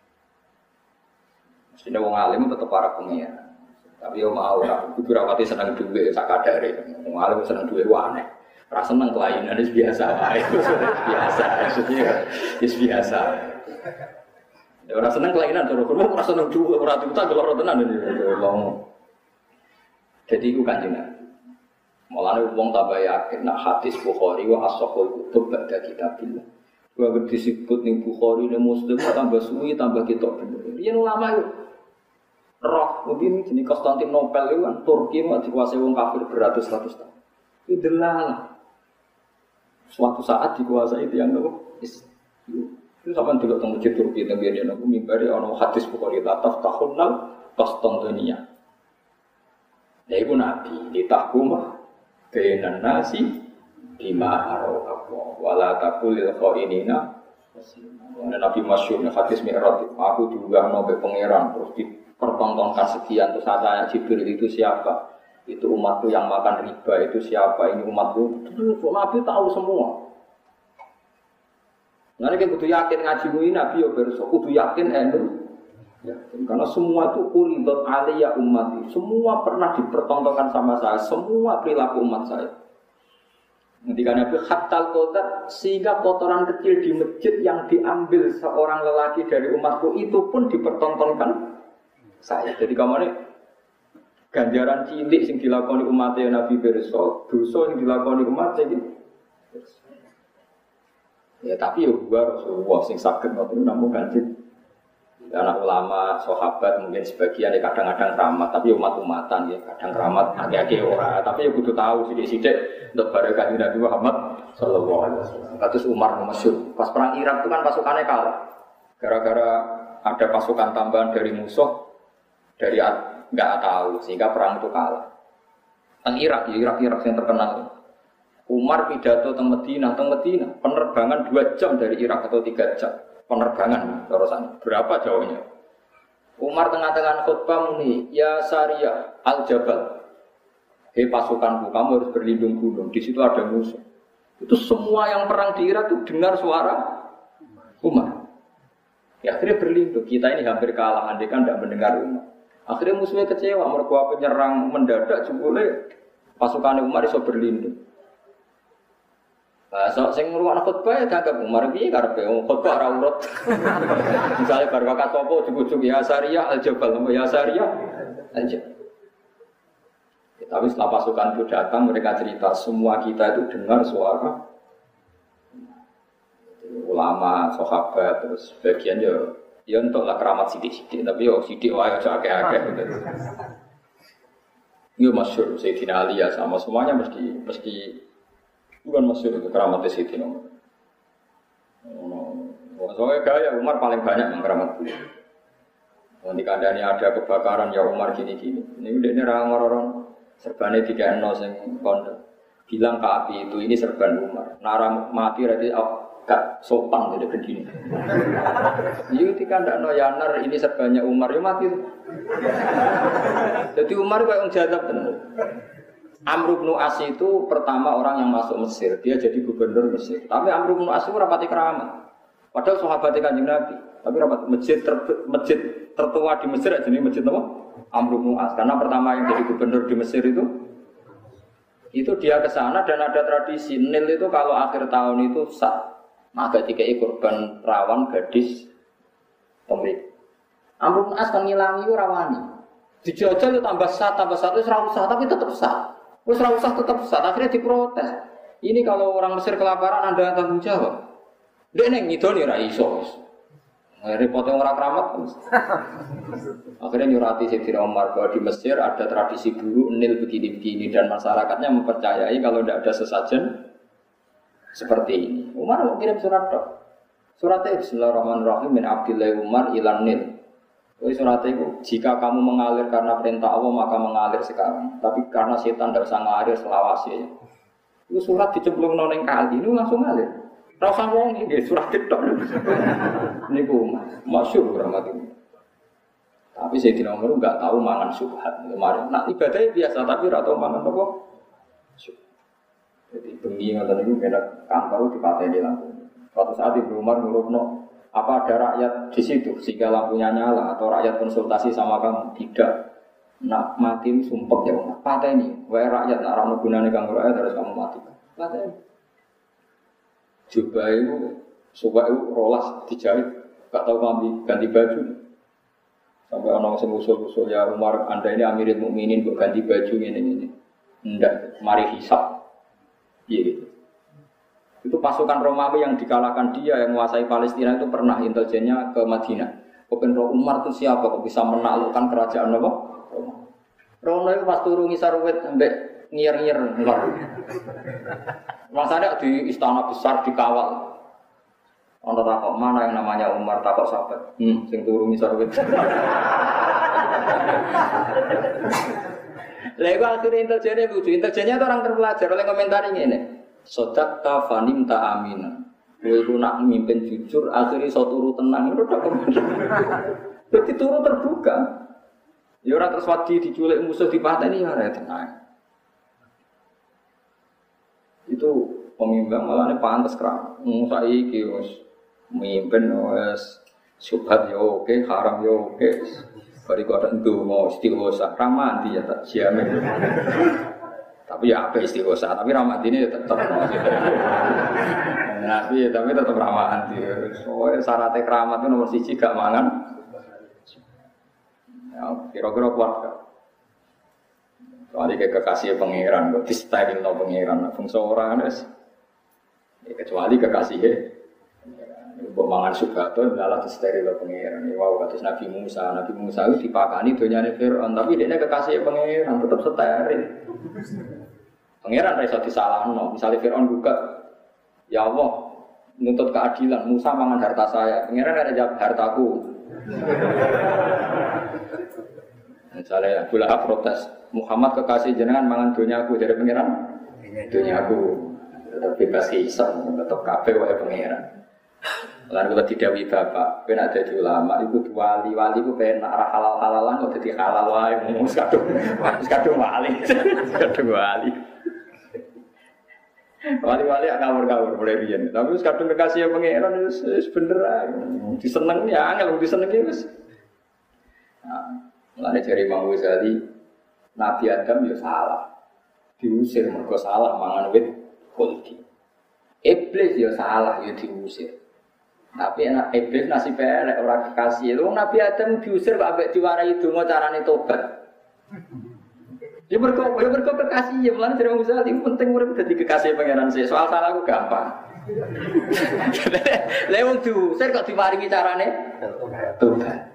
Mestine wong alim tetep para pengiran. Tapi yo mau ora kudu rawati seneng dhuwit sak kadare. Wong alim seneng dhuwit aneh. Ora seneng kelainan wis biasa wae. Biasa maksudnya wis biasa. Ora seneng kelainan terus ora seneng dhuwit ora diutak loro tenan lho. Jadi iku Kanjeng Nabi. Mulane wong tambah yakin nek hadis Bukhari wa as-sahih kutub ba'da kitabillah. Wa disebut ning Bukhari ning Muslim tambah suwi tambah kitab bener. Yen ulama itu roh mungkin jenis Konstantinopel itu kan Turki mak dikuasai wong kafir beratus-ratus tahun. Itu delalah. Suatu saat dikuasai tiyang nopo? Itu sampean delok teng masjid Turki teng biyen aku mimbari ana hadis Bukhari taftahunal Konstantinia. Ya iku Nabi ditahkumah bainan nasi bima arafa wala taqulil khainina Nabi masyhur hadis Mi'raj aku diunggahno be pangeran terus dipertontonkan sekian terus tanya Jibril itu siapa itu umatku yang makan riba itu siapa ini umatku Nabi tahu semua. Nah nek kudu yakin ngaji kuwi Nabi yo berso kudu yakin ya, karena semua itu uridot aliyah umat semua pernah dipertontonkan sama saya, semua perilaku umat saya. Ketika Nabi khatal kotor, sehingga kotoran kecil di masjid yang diambil seorang lelaki dari umatku itu pun dipertontonkan saya. Jadi kemana ganjaran cilik yang dilakoni umatnya Nabi berso, dosa yang dilakoni umatnya gitu. Ya tapi ya gua Rasulullah sing sakit waktu itu namun ganjil. Anak ulama, sahabat mungkin sebagian ya kadang-kadang keramat, tapi umat-umatan ya kadang keramat agak-agak ora. Tapi ya kudu tahu sidik-sidik untuk barokah Nabi Muhammad sallallahu alaihi wasallam. Kados Umar masyhur. Pas perang Irak itu kan pasukannya kalah. Gara-gara ada pasukan tambahan dari musuh dari enggak tahu sehingga perang itu kalah. Teng Irak yang terkenal. Umar pidato teng Madinah, penerbangan 2 jam dari Irak atau 3 jam. Penerbangan terusan berapa jauhnya? Umar tengah-tengah khutbah muni, ya Sariyah al-Jabal. Hei pasukanku, kamu harus berlindung gunung. Di situ ada musuh. Itu semua yang perang di Irak itu dengar suara Umar. Ya akhirnya berlindung. Kita ini hampir kalah, andai kan tidak mendengar Umar. Akhirnya musuhnya kecewa, mereka penyerang mendadak jebule pasukan Umar iso berlindung. So sing ngrungokno khutbah ya dianggap Umar piye karepe khutbah ora urut. Misale bar wakat apa ujug-ujug ya Sariyah al-Jabal, ya Sariyah al-Jabal. Tapi setelah pasukan itu datang mereka cerita semua kita itu dengar suara ulama, sahabat terus bagian ya entahlah keramat sidik-sidik tapi yo sidik wae aja akeh-akeh gitu. Ini masyhur Sayyidina Ali ya sama semuanya mesti bukan masyhur itu keramat Sayyidina Umar. Soalnya gaya Umar paling banyak mengkeramat beliau. Nanti kandani ada kebakaran ya Umar gini-gini. Ini udah ini orang-orang serbannya 3-0 yang kondok. Bilang ke api itu ini serban Umar. Nara mati berarti gak sopan jadi begini. Iya ketika ndak no yanar ini sebanyak Umar ya mati. Jadi Umar kayak orang jadab bener. Amr bin As itu pertama orang yang masuk Mesir, dia jadi gubernur Mesir. Tapi Amr bin As itu rapati keramat. Padahal sahabatnya Kanjeng Nabi, tapi rapat masjid tertua di Mesir jenis masjid apa? Amr bin As. Karena pertama yang jadi gubernur di Mesir itu dia ke sana dan ada tradisi Nil itu kalau akhir tahun itu maka dikai kurban rawan gadis pemilik. Amr bin As kan ngilangi itu rawani. Dijajal itu tambah satu itu usah tapi tetap sah. Terus usah tetap sah. Akhirnya diprotes. Ini kalau orang Mesir kelaparan Anda tanggung jawab. Dia neng ngidoni ra iso. Repotnya orang keramat. Akhirnya nyurati Sayyidina Umar bahwa di Mesir ada tradisi dulu Nil begini-begini dan masyarakatnya mempercayai kalau tidak ada sesajen seperti ini. Umar mau kirim surat dok. Suratnya Bismillahirrahmanirrahim min Abdillah Umar ilan Nil. Suratnya itu jika kamu mengalir karena perintah Allah maka mengalir sekarang. Tapi karena setan tidak usah ngalir selawasi. Itu surat dicemplung noneng kali ini langsung ngalir. Rasa wong iki surat ketok. Niku masyhur rahmat ini. Tapi Sayyidina Umar enggak tahu mangan subhat. Kemarin nak ibadahnya biasa tapi ora tahu mangan apa. Jadi bengi ngoten niku kena kantor dipateni lampu. Suatu saat Ibnu Umar ngurupno, apa ada rakyat di situ sehingga lampunya nyala atau rakyat konsultasi sama kamu? Tidak. Nak mati sumpek ya Umar. Pateni, wae rakyat nak ora gunane kanggo rakyat harus kamu mati. Pateni. Jubah itu, suka itu rolas dijahit, gak tahu kami ganti baju. Sampai orang yang usul-usul ya Umar, Anda ini Amirul Mukminin buat ganti baju ini. Enggak, mari hisab. Iya gitu. Itu pasukan Romawi yang dikalahkan dia yang menguasai Palestina itu pernah intelijennya ke Madinah. Open Umar itu siapa kok bisa menaklukkan kerajaan apa? Roma itu pas turun ngisarwet sampai ngir-ngir enggak. Masanya di istana besar dikawal. Ono takok mana yang namanya Umar takok sahabat. Sing turu ngisor wit. Lego akhirnya intelijennya lucu. Intelijennya itu orang terpelajar oleh komentar ini. Sodakta fanim ta amina. Kowe ku nak mimpin jujur akhirnya iso turu tenang. Itu tak komentar. Jadi turu terbuka. Ya ora terus wadi diculik musuh dipateni ya ora tenang. Itu pemimpin malah ini pantas kerap. Saiki wis mimpin wis subhat yo oke, haram yo oke. Bariku ada ndonga istighosa, ramadi ya tak jamin. Tapi ya apa istighosa, tapi ramadi ini tetap. Nabi tapi tetap ramadi. Soalnya syaratnya keramat itu nomor 1 gak mangan. Ya kira-kira kuat gak? Soalnya kayak kekasih pangeran, kok di-styling no pangeran, fungsi orang es. Kecuali kekasihnya, buat mangan sugato, malah di-steril no pangeran. Wow, kados Nabi Musa itu dipakani dunyane Fir'aun, tapi dia kekasih pangeran tetap steril. Pangeran rasa disalahno, misalnya Fir'aun buka, ya Allah, nuntut keadilan, Musa mangan harta saya, pangeran ada jawab hartaku. Misalnya Abu Lahab protes, Muhammad kekasih jenengan mangan dunyaku dari pangeran, dunyaku tetap bebas hisab, tetap kabeh wae pangeran. Lalu kalau didawi bapak, kena jadi ulama, itu wali itu kena halal-halalan, kok jadi halal wae, mus kadung wali. Wali-wali ngawur-ngawur boleh riyen, tapi kadung kekasih pangeran wis bener ae. Diseneng ya angel disenengi wis. Mulane jare Imam Ghazali, Nabi Adam ya salah. Diusir mergo salah mangan wit khuldi. Iblis ya salah ya diusir. Tapi anak iblis nasibe elek ora kekasih. Lho Nabi Adam diusir kok ambek diwarai donga carane tobat. Ya mergo kekasih ya mulane jare Imam Ghazali penting urip dadi kekasih pangeran sik. Soal salah ku gampang. Lha wong diusir kok diparingi carane tobat.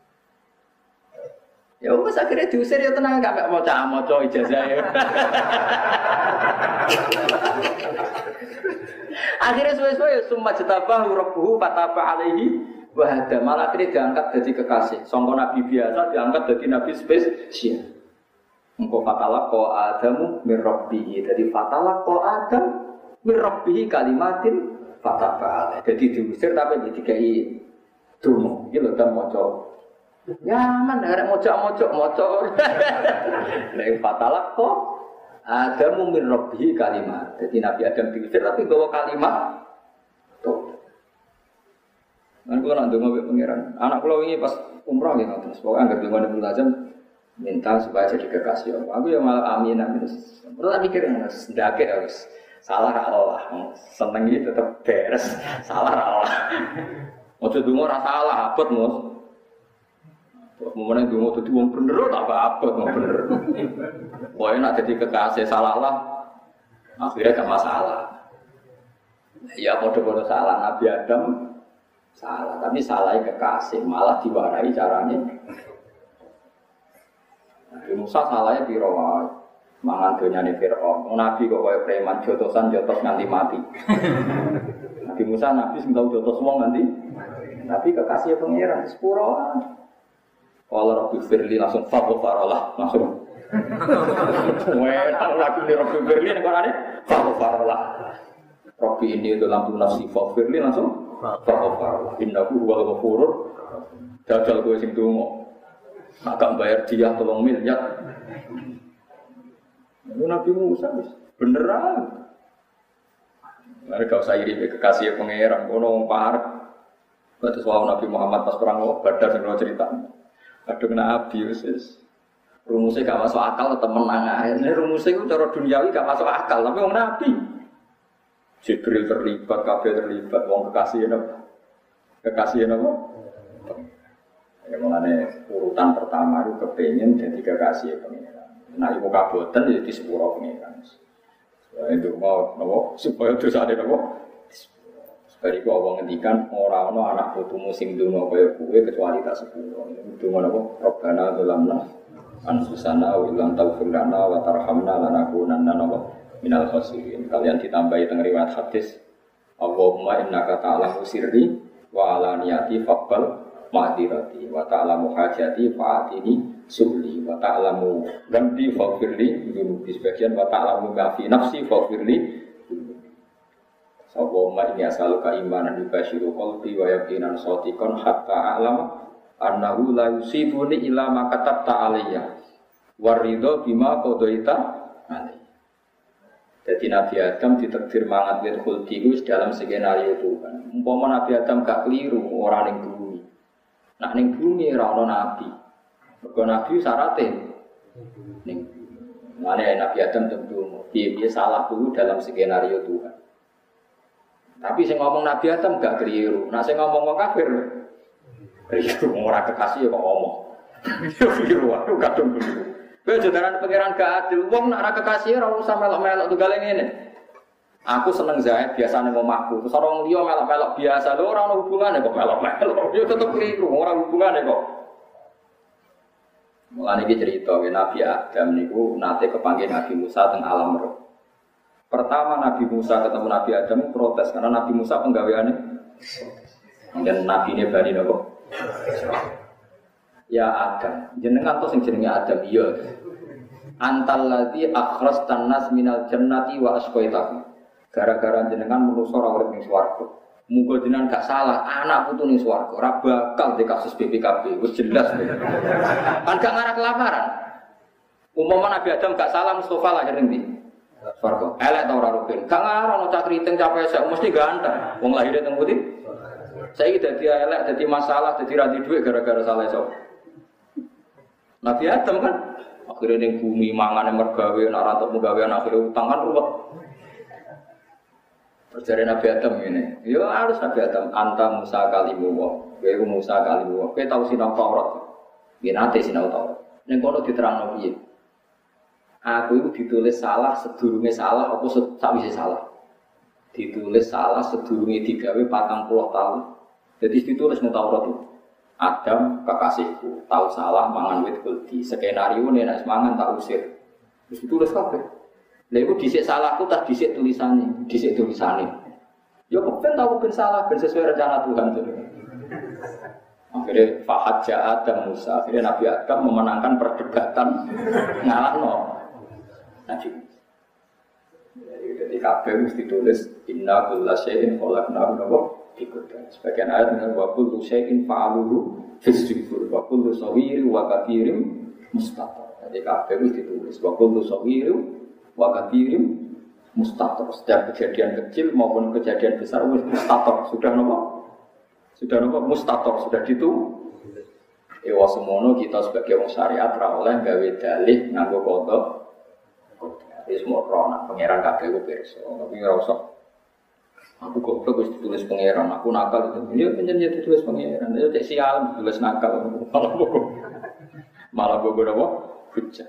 Ya wes akhirnya diusir ya tenang gak maca ijazah ya. Akhirnya suwe-suwe summa jatabahu rabbuhu fataba alaihi wa hada. Malah akhirnya diangkat jadi kekasih. Sangka nabi biasa diangkat jadi nabi spesial. Engko fatalaqa Adamu min rabbih. Jadi fatalaqa Adam min rabbih kalimatin Fataba. Jadi diusir tapi dikai dungo. Iki lho kan maca. Nyaman arek mojok. Nek fatalah kok Adamu min rabbihi kalimat. Jadi Nabi Adam diusir tapi bawa kalimat. Tuh. Kan kula nak ndonga pengiran. Anak kula wingi pas umrah ya terus pokoke anggere ndonga Ibnu Hazm minta supaya jadi kekasih Allah. Aku ya malah amin. Terus tak mikir ndake harus salah ra Allah. Seneng iki tetep beres. Salah ra Allah. Ojo ndonga ora salah abot, Mus. Momennya dungo itu wong bener tak apa-apa wong bener. Pokoknya nak jadi kekasih salah lah, akhirnya gak masalah. Ya bodoh-bodoh salah Nabi Adam salah, tapi salahnya kekasih malah diwarai caranya. Nabi Musa salahnya pirawan, mangan donyane Firaun. Nabi kok kaya preman jotosan jotos nganti mati. Nabi Musa Nabi sing tau jotos wong nganti, tapi kekasih pangeran sepuro. Kalau Rabbi Firli langsung fakofarolah langsung. Wah, lagi nih Rabbi Firli nih korane fakofarolah. Rabbi ini itu lampu nafsi Firli langsung fakofarolah. Innahu huwal ghafurur. Dajal gue sing dongo. Agak bayar dia 3 miliar. Nabi Musa beneran. Mereka usah iri kekasih pangeran. Kono parek. Terus Nabi Muhammad pas perang Badar sing cerita. Kadang Nabi Yesus, rumusnya gak masuk akal tetap menang akhirnya rumusnya itu cara duniawi gak masuk akal tapi orang Nabi Jibril terlibat, Kabir terlibat, orang kekasihnya apa? Ya mengenai urutan pertama itu kepengen jadi kekasih pengiran. Nah ibu kabotan jadi sepuluh pengiran. Itu mau supaya dosa ada apa? Dari gua awang ngendikan orang anak putumu sing donga kaya kowe kecuali tak sepuro. Donga napa? Rabbana dzalamna anfusana wa illam taghfir lana wa tarhamna lanakunanna minal khasirin. Kalian ditambahi teng riwayat hadis Allahumma innaka ta'lamu sirri wa alaniyati faqbal ma'dirati wa ta'lamu hajati fa'atini subli wa ta'lamu ghamdi faghfirli dzunubi sebagian wa ta'lamu ma fi nafsi faghfirli. Allahumma inni as'aluka imanan yubashiru qalbi wa yaqinan shadiqan hatta a'lam annahu la yusibuni illa ma katabta alayya waridho bima qadaita alayya. Jadi Nabi Adam ditakdir mangat wit khuldi itu dalam skenario Tuhan. Umpama Nabi Adam gak keliru ora ning bumi. Nak ning bumi ora ana nabi. Mergo nabi syaraté ning bumi. Mane Nabi Adam tentu piye-piye salah dulu dalam skenario Tuhan. Tapi sing ngomong Nabi Adam gak keliru. Nah sing ngomong wong kafir keliru, ora kekasih kok ngomong. Keliru wae kadung keliru. Kowe jodaran pangeran gak adil. Wong nek ora kekasih ora usah melok-melok tunggal ngene. Aku seneng zaid biasane omahku. Terus orang liya melok-melok biasa. Lho ora ono hubungane kok melok-melok. Yo tetep keliru, ora hubungane kok. Mulane iki cerita Nabi Adam niku nate kepanggih Nabi Musa teng alam roh. Pertama Nabi Musa ketemu Nabi Adam protes karena Nabi Musa penggaweane dan Nabi ini bani nopo. Ya Adam, jenengan tuh sing jenenge Adam iya. Antal ladzi akhrajtan nas minal jannati wa asqaitahu. Gara-gara jenengan manusa ora urip ning swarga. Muga jenengan gak salah, anak putu ning swarga ora bakal di kasus BPKB, wis jelas. Kan gak ngarah kelaparan. Umpama Nabi Adam gak salah Mustafa lahir ning ndi? Swarga. Elek ta ora rugen. Gak ngarah ono cah kriting capek sak mesti ganteng. Wong lahir teng pundi? Saiki dadi elek, dadi masalah, dadi ra duwe gara-gara salah sapa? Nabi Adam kan akhirnya ning bumi mangane mergawe nek ora entuk gawean akhire utang kan ruwet. Perjalanan Nabi Adam ini. Ya harus Nabi Adam anta Musa kalimullah. Kowe Musa kalimullah. Kowe tau sinau Taurat. Nggih nate sinau Taurat. Ning kono diterangno piye? Aku itu ditulis salah sedurunge salah apa sakwise salah. Ditulis salah sedurunge digawe 40 tahun. Jadi ditulis nang Taurat itu. Adam kekasihku, tahu salah mangan wit kuldi. Skenario nek mangan tak usir. Terus ditulis kabeh. Lha iku dhisik salahku tak dhisik tulisane. Ya kepen tahu ben salah ben sesuai rencana Tuhan itu. Akhirnya Fahad Adam Musa, akhirnya Nabi Adam memenangkan perdebatan ngalahno. Jadi kabeh mesti ditulis inna kulla syai'in khalaqnahu biqadar. Sebagian ayat dengan wa kullu syai'in fa'aluhu fisbir wa kullu sawirin wa katsirin mustatar. Jadi kabeh mesti ditulis wa kullu sawirin wa katsirin mustatar. Setiap kejadian kecil maupun kejadian besar mustatar. Sudah napa? Sudah napa? Mustatar, sudah ditulis. Ewa semono kita sebagai wong syariat ra oleh gawe dalih nganggo kodok. Wis moro nak pangeran kabeh ku pirsa. Tapi ora usah. Aku goblok wis ditulis pangeran, aku nakal itu. Ya pancen ditulis pangeran. Ya cek sial ditulis nakal. Malah bogo apa? Hujjah.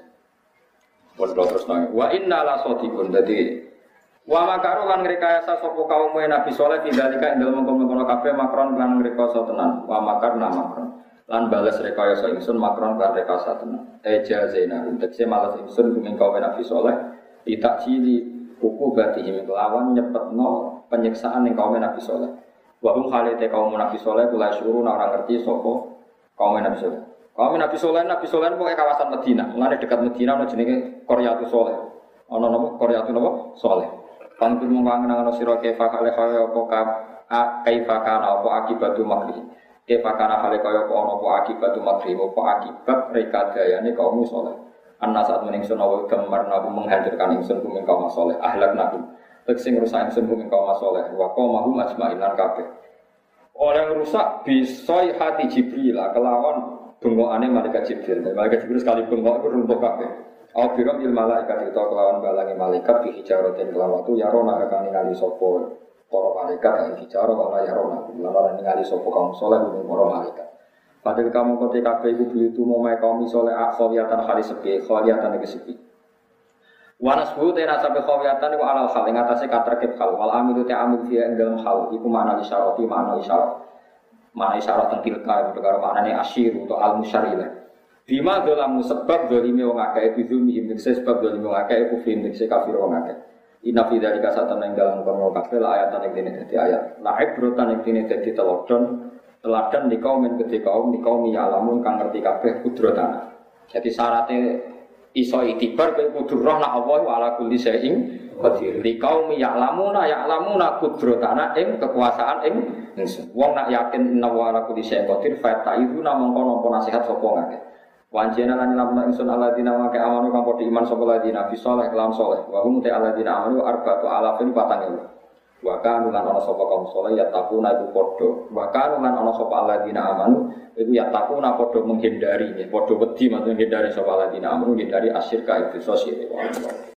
Bodo terus nang. Wa inna la shadiqun. Dadi wa makaru lan ngrekayasa sapa kaum Nabi Saleh tidalika ing dalem mengkono kabeh makron lan ngrekasa tenan. Wa makarna makron. Lan balas rekayasa ingsun makron lan rekayasa tenan. Ejazena tekse malas ingsun kumeng kaum Nabi Saleh tidak cili kuku batihim kelawan nyepetno penyiksaan ning kaum Nabi Saleh. Wa hum khalite kaum Nabi Saleh kula syukur ora ngerti sapa kaum Nabi Saleh. Kaum Nabi Saleh pokoke kawasan Madinah. Mulane dekat Madinah ana jenenge Qaryatus Saleh. Ana napa Qaryatus napa? Saleh. Pangkul mung kangen-kangen sira kefa kale kaya apa kaifa kana apa akibatu makri. Kefakana hale kaya apa ana apa akibat makrim apa akibat rekadayane kaum saleh. Anna saat meningsun awu gemar nabu menghancurkan ingsun kumeng kaum saleh ahlak nabi. Tekse ngrusak ingsun kumeng kaum saleh wa qaumahu majma'in lan kabeh. Oleh rusak bisoi hati Jibril kelawan bengokane malaikat Jibril. Malaikat Jibril sekali bengok iku runtuh kabeh. Au biram il malaikat itu kelawan balangi malaikat bi hijaratin kelawan tu yarona akan ningali sapa para malaikat yang bicara wala yarona lan ningali sapa kaum saleh ning para malaikat. Padahal kamu ketika kabeh iku itu momai kaum saleh akhwiyatan kali sepi, khawiyatan iki sepi. Wanas bu te rasa be khawiyatan iku alal hal ing atase katerkib hal wal amilu te amil fi ing dalem hal iku makna isyarati makna isyarat. Makna isyarat tilka karo maknane asyir atau al musyarilah. Bima dolamu sebab dolime wong akeh bizumi him sebab dolime wong akeh kufri ing kafir wong akeh. Inna fi dzalika satana ing dalem kono kabeh ayatan ing dene dadi ayat. La ibrotan ing dene dadi teladan di kaum ya alamun kang ngerti kabeh kudratana. Jadi syaratnya iso itibar kowe kudu roh nek Allah wa ala kulli syai'in qadir. Di kaum ya alamuna kudratana ing kekuasaan ing ingsun. Wong nak yakin inna wa ala kulli syai'in qadir fa ta'iduna mongko nampa nasihat sapa ngake. Wanjena lan lamun ingsun alladzina wa amanu kang padha iman sapa alladzina fi sholih lan sholih wa hum ta alladzina amanu arba'atu alafin patang ewu wa kanu lan ana sapa kaum sholih ya takuna iku padha wa kanu lan ana sapa alladzina amanu iku ya takuna padha menghindari padha wedi menghindari sapa alladzina amanu menghindari asyirka itu sosial.